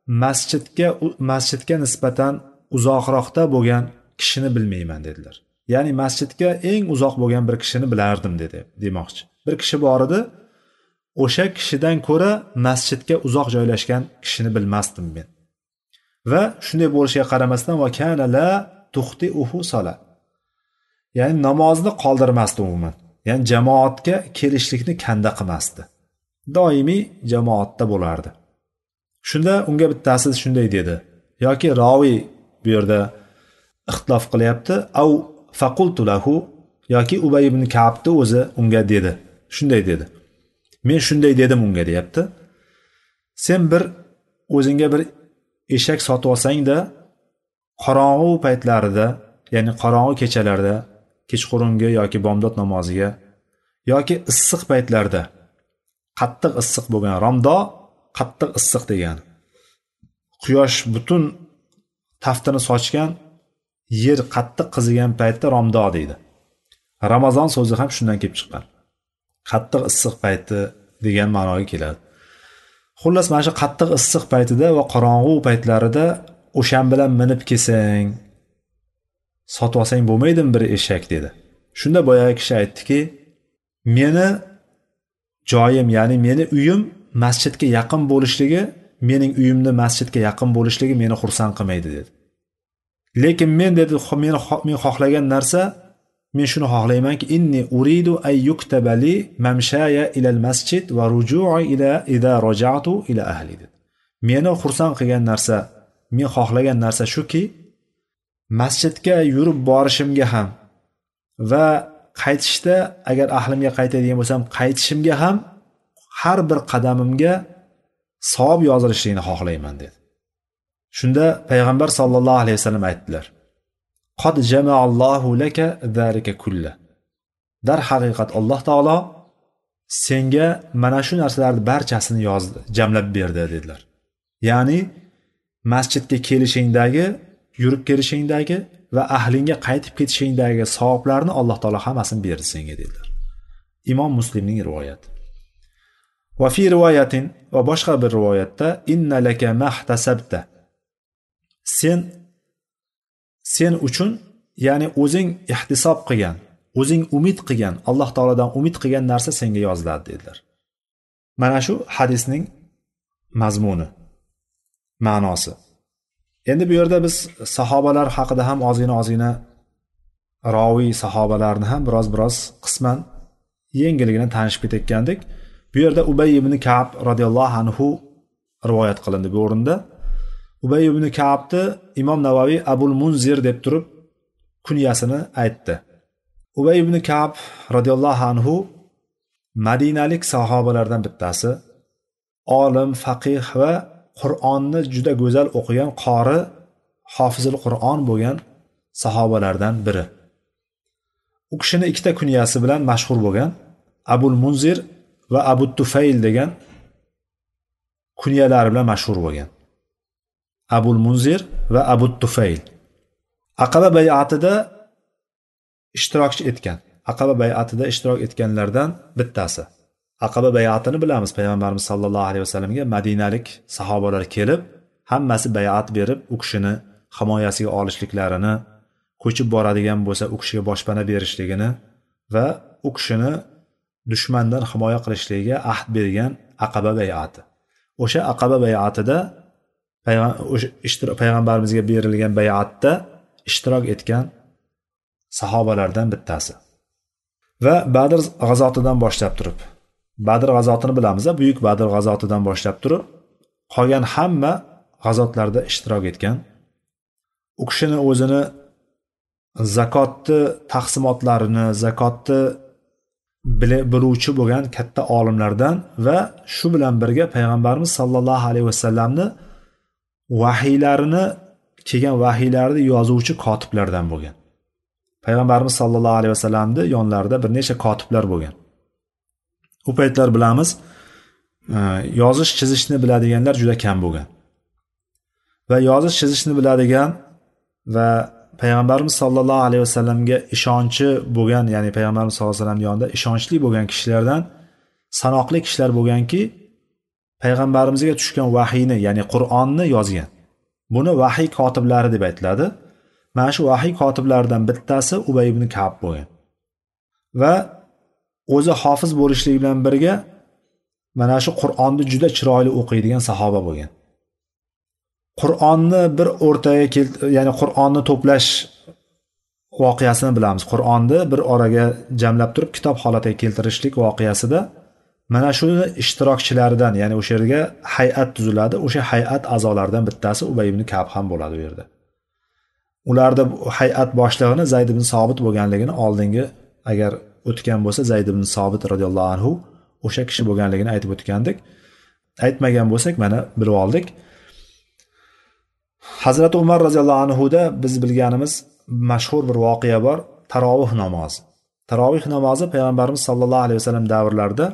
masjidga nisbatan uzoqroqda bo'lgan kishini bilmayman dedilar. Ya'ni masjidga eng uzoq bo'lgan bir kishini bilardim demoqchi. Bir kishi bor edi, o'sha kishidan ko'ra masjidga uzoq joylashgan kishini bilmasdim men. Va shunday bo'lishiga qaramasdan va kana la tuxtiuhu salat. Ya'ni namozni qoldirmasdi umuman. Ya'ni jamoatga kelishlikni kanda qilmasdi. Doimiy jamoatda bo'lardi. Shunda unga bittasi shunday dedi. Yoki raviy bu yerda ixtilof qilyapti. Au faqultu lahu, yoki Ubay ibn Ka'bni o'zi unga dedi. Shunday dedi. Men shunday dedim unga deyapti. Sen o'zingga bir eshak sotib olsang-da, qorong'u paytlarida, ya'ni qorong'u kechalarda, kechqurungi yoki bomdod namoziga yoki issiq paytlarda, qattiq issiq bo'lgan Ramdo, qattiq issiq degan. Quyosh butun taftini sochgan, yer qattiq qizigan paytda Ramdo deydi. Ramazon so'zi ham shundan kelib chiqqan. Qattiq issiq payti degan ma'noga keladi. Xullas, mana shu qattiq issiq paytida va qorong'u paytlarida o'shan bilan minib kelsang, sotib olsang bo'lmaydimi bir eshak dedi. Shunda boyagi kishi aytdiki, meni joyim, ya'ni meni uyim masjidga yaqin bo'lishligi, mening uyimni masjidga yaqin bo'lishligi meni xursand qilmaydi dedi. Lekin men dedi, men xohlagan narsa, men shuni xohlaymanki, inni uridu ay yuktabali mamshaya ila al-masjid va ruju'i idha raja'tu ila ahli dedi. Meni xursand qilgan narsa, men xohlagan narsa shuki, masjidga yurib borishimga ham va qaytishda agar ahlimga qaytadigan bo'lsam, qaytishimga ham har bir qadamimga savob yozilishini xohlayman dedi. Shunda payg'ambar sollallohu alayhi vasallam aytdilar: "Qad jama'allohu laka zalika kullah." Dar haqiqat Alloh taolo senga mana shu narsalarning barchasini yozdi, jamlab berdi dedilar. Ya'ni masjidga kelishingdagi, yurib kelishingdagi va ahlingga qaytib ketishingdagi savoblarni Alloh taolo hammasini berdi senga dedilar. Imom Muslimning rivoyati. Va fi rivoyatin, va boshqa bir rivoyatda inna laka mahtasabta. Sen uchun, ya'ni o'zing ihtisob qilgan, o'zing umid qilgan, Alloh taolodan umid qilgan narsa senga yoziladi dedilar. Mana shu hadisning mazmuni, ma'nosi. Endi bu yerda biz sahobalar haqida ham ozgina raviy sahobalarni ham biroz qisman yengilgina tanishib ketgandik. Bu yerda Ubay ibn Ka'b radhiyallohu anhu rivoyat qilindi bu o'rinda. Ubay ibn Ka'bni Imom Navaviy Abul Munzir deb turib kunyasini aytdi. Ubay ibn Ka'b radhiyallohu anhu madinalik sahobalardan bittasi, olim, faqih va Qur'onni juda go'zal o'qigan qori, hofizul Qur'on bo'lgan sahobalardan biri. U kishini ikkita kunyasi bilan mashhur bo'lgan, Abul Munzir va Abu Tufayl degan kunyalari bilan mashhur bo'lgan. Abul Munzir va Abu Tufayl Aqaba bay'atida ishtirokchi etgan. Aqaba bay'atida ishtirok etganlardan bittasi. Aqaba bay'atini bilamiz. Payg'ambarimiz sollallohu alayhi vasallamga madinalik sahobalar kelib, hammasi bay'at berib, u kishini himoyasiga olishliklarini, ko'chib boradigan bo'lsa u kishiga boshpana berishligini va u kishini dushmandan himoya qilishligiga ahd bergan Aqaba bay'ati. O'sha Aqaba bay'atida payg'ambarimizga berilgan bay'atda ishtirok etgan sahobalardan bittasi. Va Badr g'azotidan boshlab turib, Badr g'azotini bilamiz, buyuk Badr g'azotidan boshlab turib, qolgan hamma g'azotlarda ishtirok etgan. U kishini o'zini zakotni taqsimotlarini, zakotni biluvchi bo'lgan katta olimlardan va shu bilan birga payg'ambarimiz sollallohu alayhi vasallamni vahiylarini, kelgan vahiylarni yozuvchi kotiblardan bo'lgan. Payg'ambarimiz sollallohu alayhi vasallamning yonlarida bir necha kotiblar bo'lgan. U paytlar bilamiz, yozish chizishni biladiganlar juda kam bo'lgan. Va yozish chizishni biladigan va payg'ambarimiz sollallohu alayhi vasallamga ishonchi bo'lgan, ya'ni payg'ambarimiz sollallohu alayhi vasallam yonida ishonchli bo'lgan kishilardan sanoqli kishilar bo'lganki, payg'ambarimizga tushgan vahiyni, ya'ni Qur'onni yozgan. Buni vahiy kotiblari deb aytiladi. Mana shu vahiy kotiblaridan bittasi Ubay ibn Ka'b bo'lgan. Va o'zi hofiz bo'lishligi bilan birga mana shu Qur'onni juda chiroyli o'qiydigan sahoba bo'lgan. Qur'onni bir o'rtaga ya'ni Qur'onni to'plash voqeasini bilamiz. Qur'onni bir oraga jamlab turib kitob holatiga keltirishlik voqeasida mana shu ishtirokchilaridan, ya'ni o'sha yerga hay'at tuziladi. O'sha hay'at a'zolaridan bittasi Ubay ibn Ka'b ham bo'ladi u yerda. Ularda hay'at boshlig'ini Zayd ibn Sobit bo'lganligini oldingi agar o'tgan bo'lsa Zayd ibn Sobit radhiyallohu anhu o'sha kishi bo'lganligini aytib o'tgandik. Aytmagan bo'lsak mana bilib oldik. Hazrat Umar radhiyallohu anhu da biz bilganimiz mashhur bir voqea bor, tarovih namozi. Tarovih namozi payg'ambarimiz sollallohu alayhi vasallam davrlarida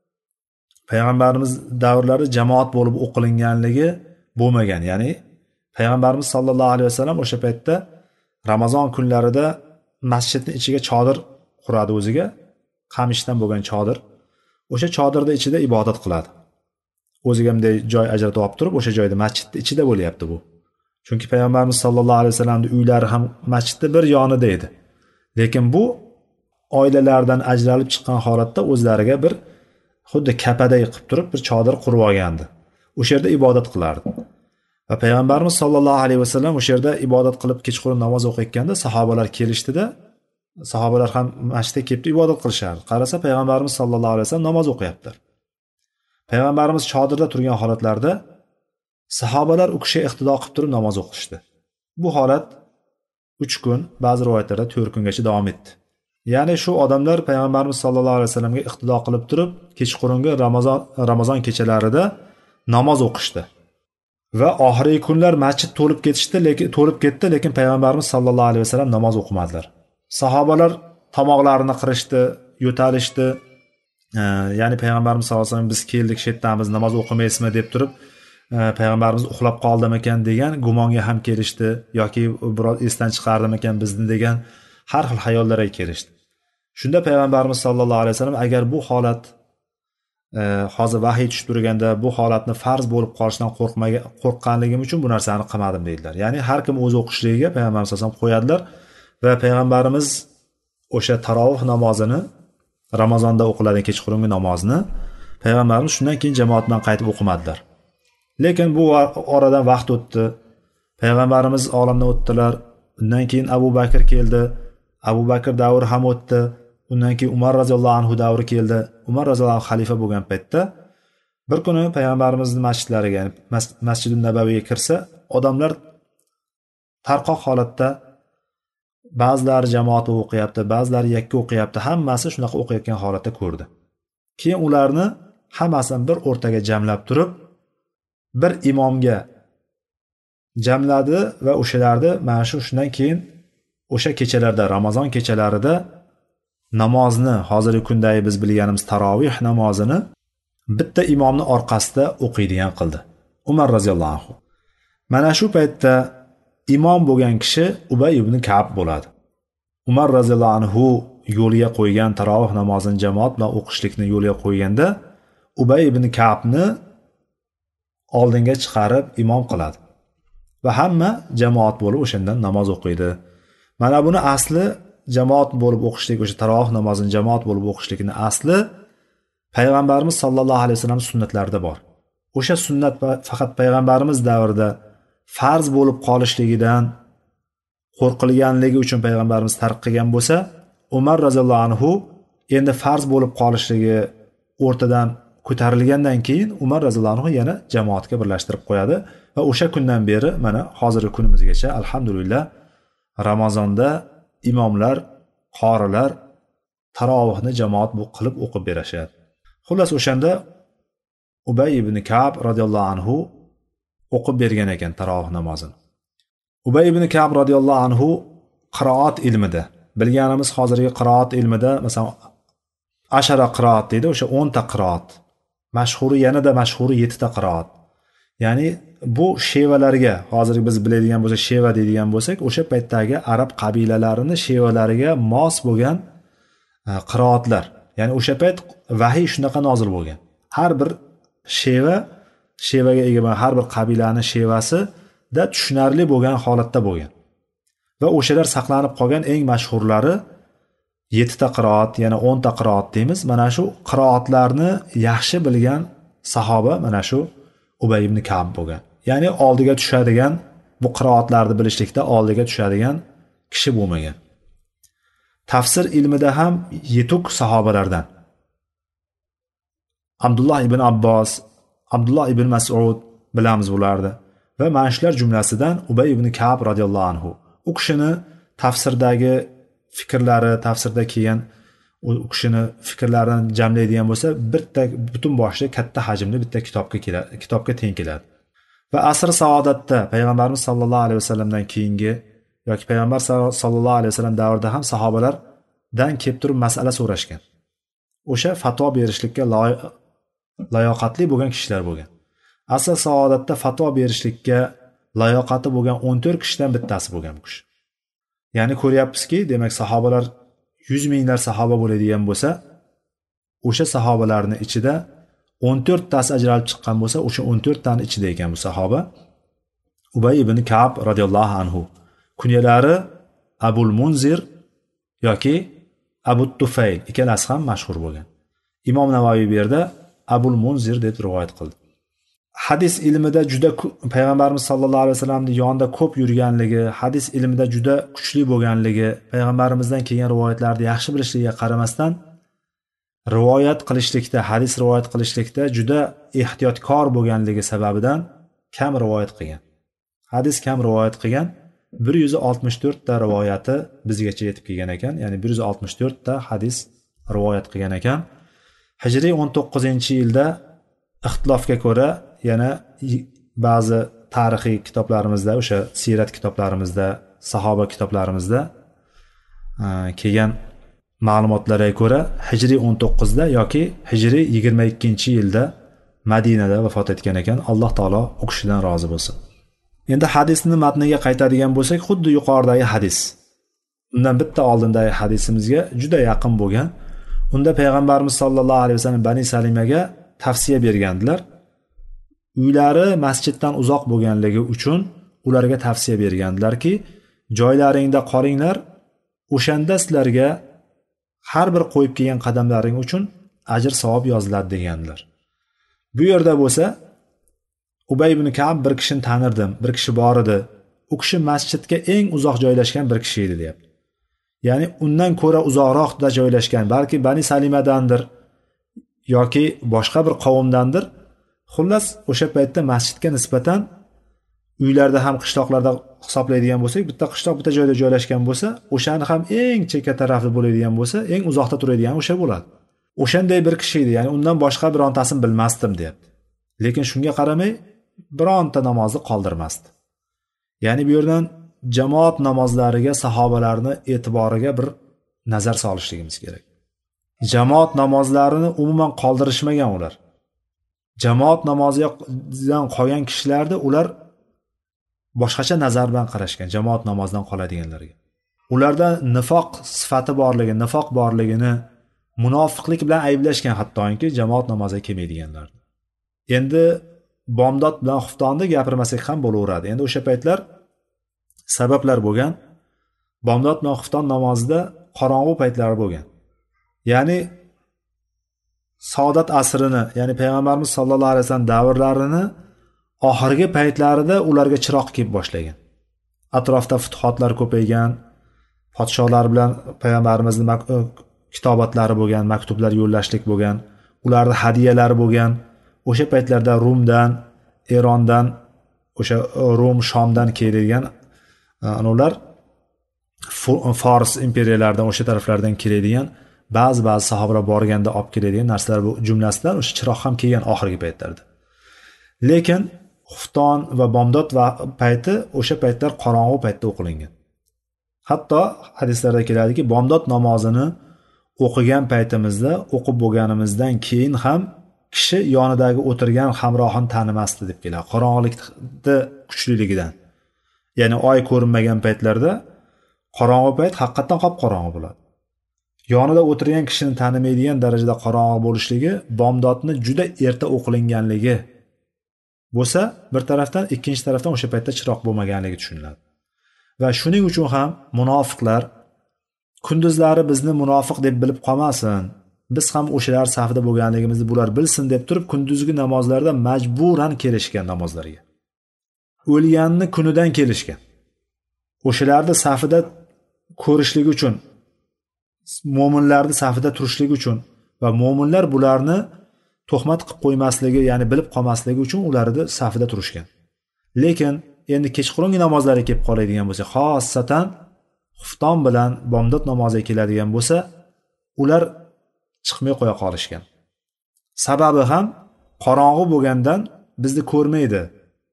jamoat bo'lib o'qilinganligi bo'lmagan. Ya'ni payg'ambarimiz sollallohu alayhi vasallam o'sha paytda Ramazon kunlarida masjidning ichiga chodir quradi o'ziga, qamishdan bo'lgan chodir. O'sha chodirning ichida ibodat qiladi. O'ziga bunday joy ajratib olib turib, o'sha joyda masjidning ichida bo'lyapti bu. Chunki payg'ambarimiz sollallohu alayhi vasallamning uylari ham masjidning bir yonida edi. Lekin bu oilalardan ajralib chiqqan holatda o'zlariga bir xuddi kapaday qilib turib bir chodir qurib olgandi. O'sha yerda ibodat qilardi. Va payg'ambarimiz sollallohu alayhi vasallam o'sha yerda ibodat qilib kechqurun namoz o'qiyotganda sahobalar kelishdida, sahobalar ham masjidga kelib ibodat qilishardi. Qarasa payg'ambarimiz sollallohu alayhi vasallam namoz o'qiyapti. Payg'ambarimiz chodirda turgan holatlarda sahobalar u kishiga iqtido qilib turib namoz o'qishdi. Bu holat 3 kun, ba'zi rivoyatlarda 4 kungacha davom etdi. Ya'ni shu odamlar payg'ambarimiz sollallohu alayhi vasallamga iqtido qilib turib kechqurungi Ramazon kechalarida namoz o'qishdi. Va oxirgi kunlar masjid to'lib ketdi, lekin payg'ambarimiz sollallohu alayhi vasallam namoz o'qimadilar. Sahobalar tomoqlarini qirishdi, yo'talishdi. Ya'ni payg'ambarimiz sollallohu alayhi vasallam biz keldik, shu yerdamiz, namoz o'qimaysizmi deb turib, payg'ambarimiz uxlab qoldimikan degan gumonga ham kelishdi yoki biroz esdan chiqardimikan bizni degan har xil xayollarga kelishdi. Shunda payg'ambarimiz sollallohu alayhi vasallam agar bu holat hozir vahiy tushib turganda bu holatni farz bo'lib qolishidan qo'rqqanligim uchun bu narsani qilmadim deydilar. Ya'ni har kim o'zi o'qishligiga payg'ambarimiz sollallohu alayhi vasallam qo'yadilar va payg'ambarimiz o'sha tarovih namozini Ramazonda o'qiladigan kechqurungi namozni payg'ambarimiz shundan keyin jamoat bilan qaytib o'qimadilar. Lekin bu oradan vaqt o'tdi. Payg'ambarimiz olamdan o'tdilar. Undan keyin Abu Bakr keldi. Abu Bakr davri ham o'tdi. Undan keyin Umar roziyallohu anhu davri keldi. Umar roziyallohu anhu xalifa bo'lgan paytda bir kuni payg'ambarimizning masjidlariga, ya'ni Masjidun Nabaviyga kirsa, odamlar tarqoq holatda ba'zilari jamoat o'qiyapti, ba'zilari yakka o'qiyapti, hammasi shunaqa o'qiyotgan holatda ko'rdi. keyin ularni hammasini bir o'rtaga jamlab turib bir imomga jamladi va o'shalarni mana shundan keyin o'sha kechalarda, Ramazon kechalarida namozni, hozirgi kundagi biz bilganimiz tarovih namozini bitta imomni orqasida o'qiydigan qildi Umar roziyallohu anhu. Mana shu paytda imom bo'lgan kishi Ubay ibn Ka'b bo'ladi. Umar roziyallohu anhu yo'lga qo'ygan tarovih namozini jamoat bilan o'qishlikni yo'lga qo'yganda Ubay ibn Ka'bni oldinga chiqarib imom qiladi va hamma jamoat bo'lib o'shandan namoz o'qiydi. Mana buni asli jamoat bo'lib o'qishlik, o'sha tarovih namozini jamoat bo'lib o'qishlikning asli payg'ambarimiz sollallohu alayhi vasallam sunnatlarida bor. O'sha sunnat faqat payg'ambarimiz davrida farz bo'lib qolishligidan qo'rqilganligi uchun payg'ambarimiz tark qilgan bo'lsa, Umar roziyallohu anhu endi farz bo'lib qolishligi o'rtadan ko'tarilgandan keyin Umar roziyallohu anhu yana jamoatga birlashtirib qo'yadi va o'sha kundan beri mana hozirgi kunimizgacha alhamdulillah Ramazonda imomlar, qorilar tarovihni jamoat qilib o'qib berishadi. Xullas o'shanda Ubay ibn Ka'b radhiyallohu anhu o'qib bergan ekan tarovih namozini. Ubay ibn Ka'b radhiyallohu anhu qiroat ilmida, bilganimiz hozirgi qiroat ilmida masalan ashara qiroat deydi, o'sha 10 ta qiroat. Mashhuri yanada mashhuri 7 ta qiroat. Ya'ni bu shevalarga, hozir biz biladigan bo'lsak sheva deydigan bo'lsak, o'sha paytdagi arab qabilalarining shevalariga mos bo'lgan qiroatlar. Ya'ni o'sha payt vahiy shunaqa nozil bo'lgan. Har bir shevaga ega bo'lgan har bir qabilaning shevasi da tushunarli bo'lgan holatda bo'lgan. Va o'shalar saqlanib qolgan eng mashhurlari 7 ta qiroat, yana 10 ta qiroat deymiz. Mana shu qiroatlarni yaxshi bilgan sahoba mana shu Ubay ibn Ka'b bo'lgan. Ya'ni oldiga tushadigan, bu qiroatlarni bilishlikda oldiga tushadigan kishi bo'lmagan. Tafsir ilmida ham yetuk sahobalardan Abdullah ibn Abbos, Abdullah ibn Mas'ud bilamiz bularni va mana shular jumlasidan Ubay ibn Ka'b radhiyallohu anhu. U kishini tafsirdagi fikrlari, tafsirda kelgan u kishini fikrlarini jamlaydigan bo'lsa, bitta butun boshli katta hajmli bitta kitobga teng keladi. Va asr saodatda payg'ambarimiz sollallohu alayhi vasallamdan keyingi yoki payg'ambar sollallohu alayhi vasallam davrida ham sahobalardan kelib turib masala so'rashgan. O'sha fatvo berishlikka layoqatli bo'lgan kishilar bo'lgan. Asr saodatda fatvo berishlikka layoqati bo'lgan 14 kishidan bittasi bo'lgan bu kishi. Ya'ni ko'ryapmizki, demak sahobalar 100 minglar sahoba bo'ladigan bo'lsa, o'sha sahobalarning ichida 14 tasi ajralib chiqqan bo'lsa, o'sha 14 tani ichida ekan bu sahoba. Ubay ibn Ka'b radhiyallohu anhu. Kunyalari Abul Munzir yoki Abu Tufayl, ikkalasi ham mashhur bo'lgan. Imom Navoiy bu yerda Abul Munzir deb rivoyat qildi. Hadis ilmida juda payg'ambarimiz sollallohu alayhi vasallamning yonida ko'p yurganligi, hadis ilmida juda kuchli bo'lganligi, payg'ambarimizdan kelgan rivoyatlarni yaxshi bilishligiga qaramasdan rivoyat qilishlikda, hadis rivoyat qilishlikda juda ehtiyotkor bo'lganligi sababidan kam rivoyat qilgan. Hadis kam rivoyat qilgan, 164 ta rivoyati bizgacha yetib kelgan ekan, ya'ni 164 ta hadis rivoyat qilgan ekan. Hijriy 19-yilda ixtilofga ko'ra yana ba'zi tarixiy kitoblarimizda, o'sha sirat kitoblarimizda, sahoba kitoblarimizda kelgan ma'lumotlarga ko'ra Hijriy 19da yoki Hijriy 22-yilda Madinada vafot etgan ekan. Alloh taolo u kishidan rozi bo'lsin. Endi hadisni matniga qaytadigan bo'lsak, xuddi yuqoridagi hadis, undan bitta oldindagi hadisimizga juda yaqin bo'lgan. Unda payg'ambarimiz sollallohu alayhi vasallam Bani Salimaga tavsiya bergandilar. Uylari masjiddan uzoq bo'lganligi uchun ularga tavsiya bergandilarki, joylaringda qolinglar, o'shanda sizlarga har bir qo'yib kelgan qadamlaring uchun ajr savob yoziladi degandilar. Bu yerda bo'lsa Ubay ibn Ka'b bir kishini tanirdim, bir kishi bor edi. U kishi masjidga eng uzoq joylashgan bir kishi edi deyapti. Ya'ni undan ko'ra uzoqroqda joylashgan, balki Bani Salimadandir yoki boshqa bir qavmdandir. Xullas, o'sha paytda masjidga nisbatan uylarda ham qishloqlarda hisoblaydigan bo'lsak, bitta qishloq bitta joyda joylashgan bo'lsa, o'shani ham eng chekka tarafda bo'ladigan bo'lsa, eng uzoqda turadigan o'sha bo'ladi. o'shanday bir kishi edi, ya'ni undan boshqa birontasini bilmasdim deyapti. Lekin shunga qaramay bironta namozni qoldirmasdi. Ya'ni bu yerdan jamoat namozlariga sahobalarni e'tiboriga bir nazar solishligimiz kerak. Jamoat namozlarini umuman qoldirishmagan ular. Jamoat namozidan qolgan kishilarni ular boshqacha nazar bilan qarashgan jamoat namozidan qoladiganlarga. Ularda nifoq sifati borligi, nifoq borligini, munofiqlik bilan ayblashgan hattoki jamoat namoziga kelmaydiganlarni. Endi bomdod bilan xuftonni gapirmasak ham bo'laveradi. Endi o'sha paytlar sabablar bo'lgan. Bomdod bilan xufton namozida qorong'u paytlari bo'lgan. Ya'ni Saodat asrini, ya'ni payg'ambarimiz sollallohu alayhi vasallam davrlarini oxirgi paytlarida ularga chiroq kelib boshlagan. Atrofda futuhotlar ko'paygan, podshohlar bilan payg'ambarimizning kitobatlari bo'lgan, maktublar yo'llashlik bo'lgan, ularning hadiyalari bo'lgan. O'sha paytlarda Rumdan, Erondan, o'sha Rum, Shomdan keladigan ular Fors imperiyalaridan, o'sha taraflardan keladigan ba'zi sahobalar borganda olib keladigan narsalar bu jumlasidan o'sha chiroq ham kelgan oxirgi paytlarda. Lekin xufton va bomdod va payti o'sha paytlar qorong'u paytda o'qilingan. Hatto hadislarda keladiki, bomdod namozini o'qigan paytimizda, o'qib bo'lganimizdan keyin ham kishi yonidagi o'tirgan hamrohini tanimasdi deb keladi. Qorong'ulikda kuchliligidan. Ya'ni oy ko'rinmagan paytlarda qorong'u payt haqiqatan qop-qorong'u bo'ladi. Yonida o'tirgan kishini tanimaydigan darajada qorong'u bo'lishligi bomdodni juda erta o'qilinganligi bo'lsa, bir tarafdan, ikkinchi tarafdan o'sha paytda chiroq bo'lmaganligi tushuniladi. Va shuning uchun ham munofiqlar kunduzlari bizni munofiq deb bilib qolmasin, biz ham o'shalar safida bo'lganligimizni bular bilsin deb turib, kunduzgi namozlarda majburan kelishgan namozlarga. O'lganni kunidan kelishgan. O'shalarni safida ko'rishligi uchun, mo'minlarning safida turishligi uchun va mo'minlar bularni tuhmat qilib qo'ymasligi, ya'ni bilib qolmasligi uchun ularni safida turishgan. Lekin endi kechqurungi namozlarga kelib qoladigan bo'lsa, xossatan xufton bilan bomdod namoziga keladigan bo'lsa, ular chiqmay qo'ya qolishgan. Sababi ham qorong'u bo'lgandan bizni ko'rmaydi.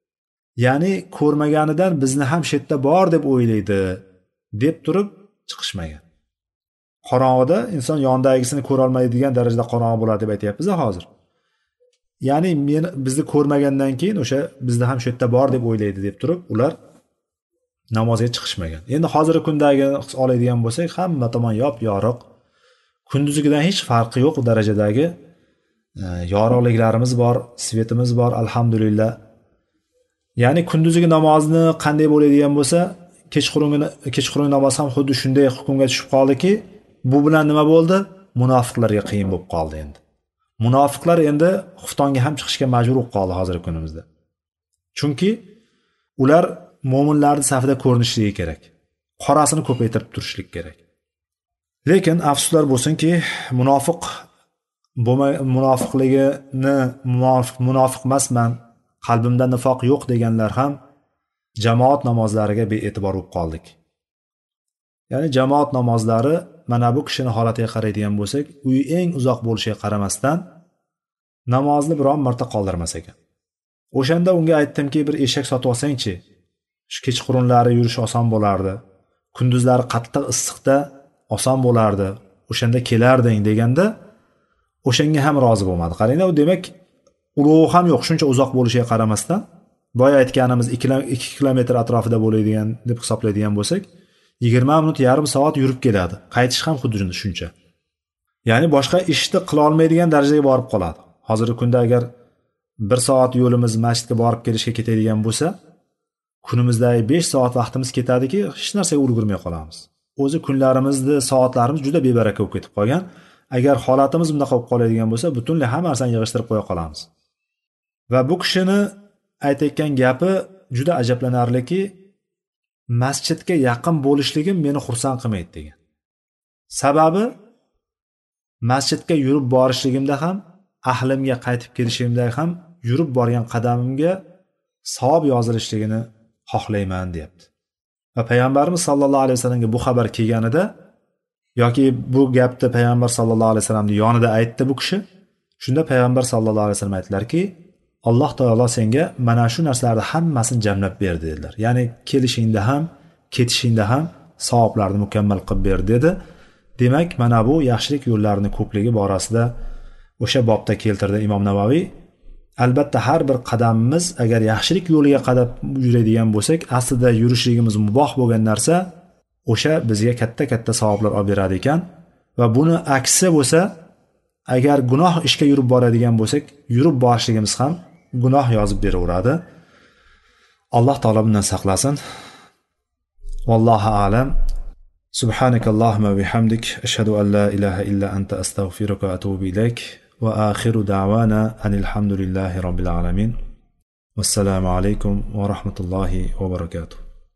Ya'ni ko'rmaganidan bizni ham shu yerda bor deb o'ylaydi deb turib chiqishmagan. Qorong'uda inson yondagisini ko'ra olmaydigan darajada qorong'u bo'ladi deb aytayapmiz hozir. Ya'ni bizni ko'rmagandan keyin o'sha bizni ham shu yerda bor deb o'ylaydi deb turib ular namozga chiqishmagan. Endi hozirgi kundagi oladigan bo'lsak, hamma tomon yop-yorug', kunduzgidan hech farqi yo'q darajadagi yorug'liklarimiz bor, svetimiz bor, alhamdulillah. Ya'ni kunduzgi namozni qanday bo'ladigan bo'lsa, kechqurungi namoz ham xuddi shunday hukmga tushib qoldiki, bu bilan nima bo'ldi? Munofiqlarga qiyin bo'lib qoldi endi. Munofiqlar endi xuftonga ham chiqishga majbur bo'lib qoldi hozirgi kunimizda. Chunki ular mo'minlarning safida ko'rinishligi kerak. Qorasini ko'paytirib turishlik kerak. Lekin afsuslar bo'lsinki, munofiq emasman, qalbimda nifoq yo'q deganlar ham jamoat namozlariga bee'tibor bo'lib qoldik. Ya'ni jamoat namozlari mana bu kishini holatiga qaraydigan bo'lsak, uyi eng uzoq bo'lishiga qaramasdan namozni biron marta qoldirmas ekan. O'shanda unga aytdimki, bir eshak sotib olsang-chi, shu kechqurunlari yurish oson bo'lardi. Kunduzlari qattiq issiqda oson bo'lardi. O'shanda kelarding deganda, o'shanga ham rozi bo'lmadi. Qaranglar, u demak ulug' ham yo'q, shuncha uzoq bo'lishiga qaramasdan, boya aytganimiz 2 kilometr atrofida bo'ladigan deb hisoblaydigan bo'lsak, 20 minut, yarim soat yurib keladi. Qaytish ham xuddi shuncha. Ya'ni boshqa ishni qila olmaydigan darajaga borib qoladi. Hozirgi kunda agar 1 soat yo'limiz masjidga borib kelishga ketadigan bo'lsa, kunimizdagi 5 soat vaqtimiz ketadiki, hech narsaga ulgurmay qolamiz. O'zi kunlarimizni, soatlarimiz juda bebaraka bo'lib ketib qolgan. Agar holatimiz bunday bo'lib qoladigan bo'lsa, butunlay hamma narsani yig'ishtirib qo'ya qolamiz. Va bu kishini aytayotgan gapi juda ajablanarliki, masjidga yaqin bo'lishligim meni xursand qilmaydi degan. Sababi masjidga yurib borishligimda ham, ahlimga qaytib kelishimda ham yurib borgan qadamimga savob yozilishligini xohlayman, deyapti. Va payg'ambarimiz sollallohu alayhi vasallamga bu xabar kelganida, yoki bu gapni payg'ambar sallallohu alayhi vasallamning yonida aytdi bu kishi. Shunda payg'ambar sallallohu alayhi vasallam aytdilarki, Alloh taolo senga mana shu narsalarni hammasini jamlab berdi dedilar. Ya'ni kelishingda ham, ketishingda ham savoblarni mukammal qilib berdi dedi. Demak, mana bu yaxshilik yo'llarining ko'pligi borasida o'sha bobda keltirdi Imom Navaviy. Albatta har bir qadamimiz agar yaxshilik yo'liga qadab yuradigan bo'lsak, aslida yurishligimiz muboh bo'lgan narsa o'sha bizga katta savoblar olib beradi ekan va buni aksi bo'lsa, agar gunoh ishga yurib boradigan bo'lsak, yurib borishligimiz ham gunoh yozib beraveradi. Alloh taolo bundan saqlasin. Vallohu a'lam. Subhanakallahumma va bihamdik ashhadu an la ilaha illa anta astaghfiruka va atubu ilayk va akhiru da'wana anil hamdulillahi robbil alamin. Wassalamu alaykum va rahmatullohi va barakatuh.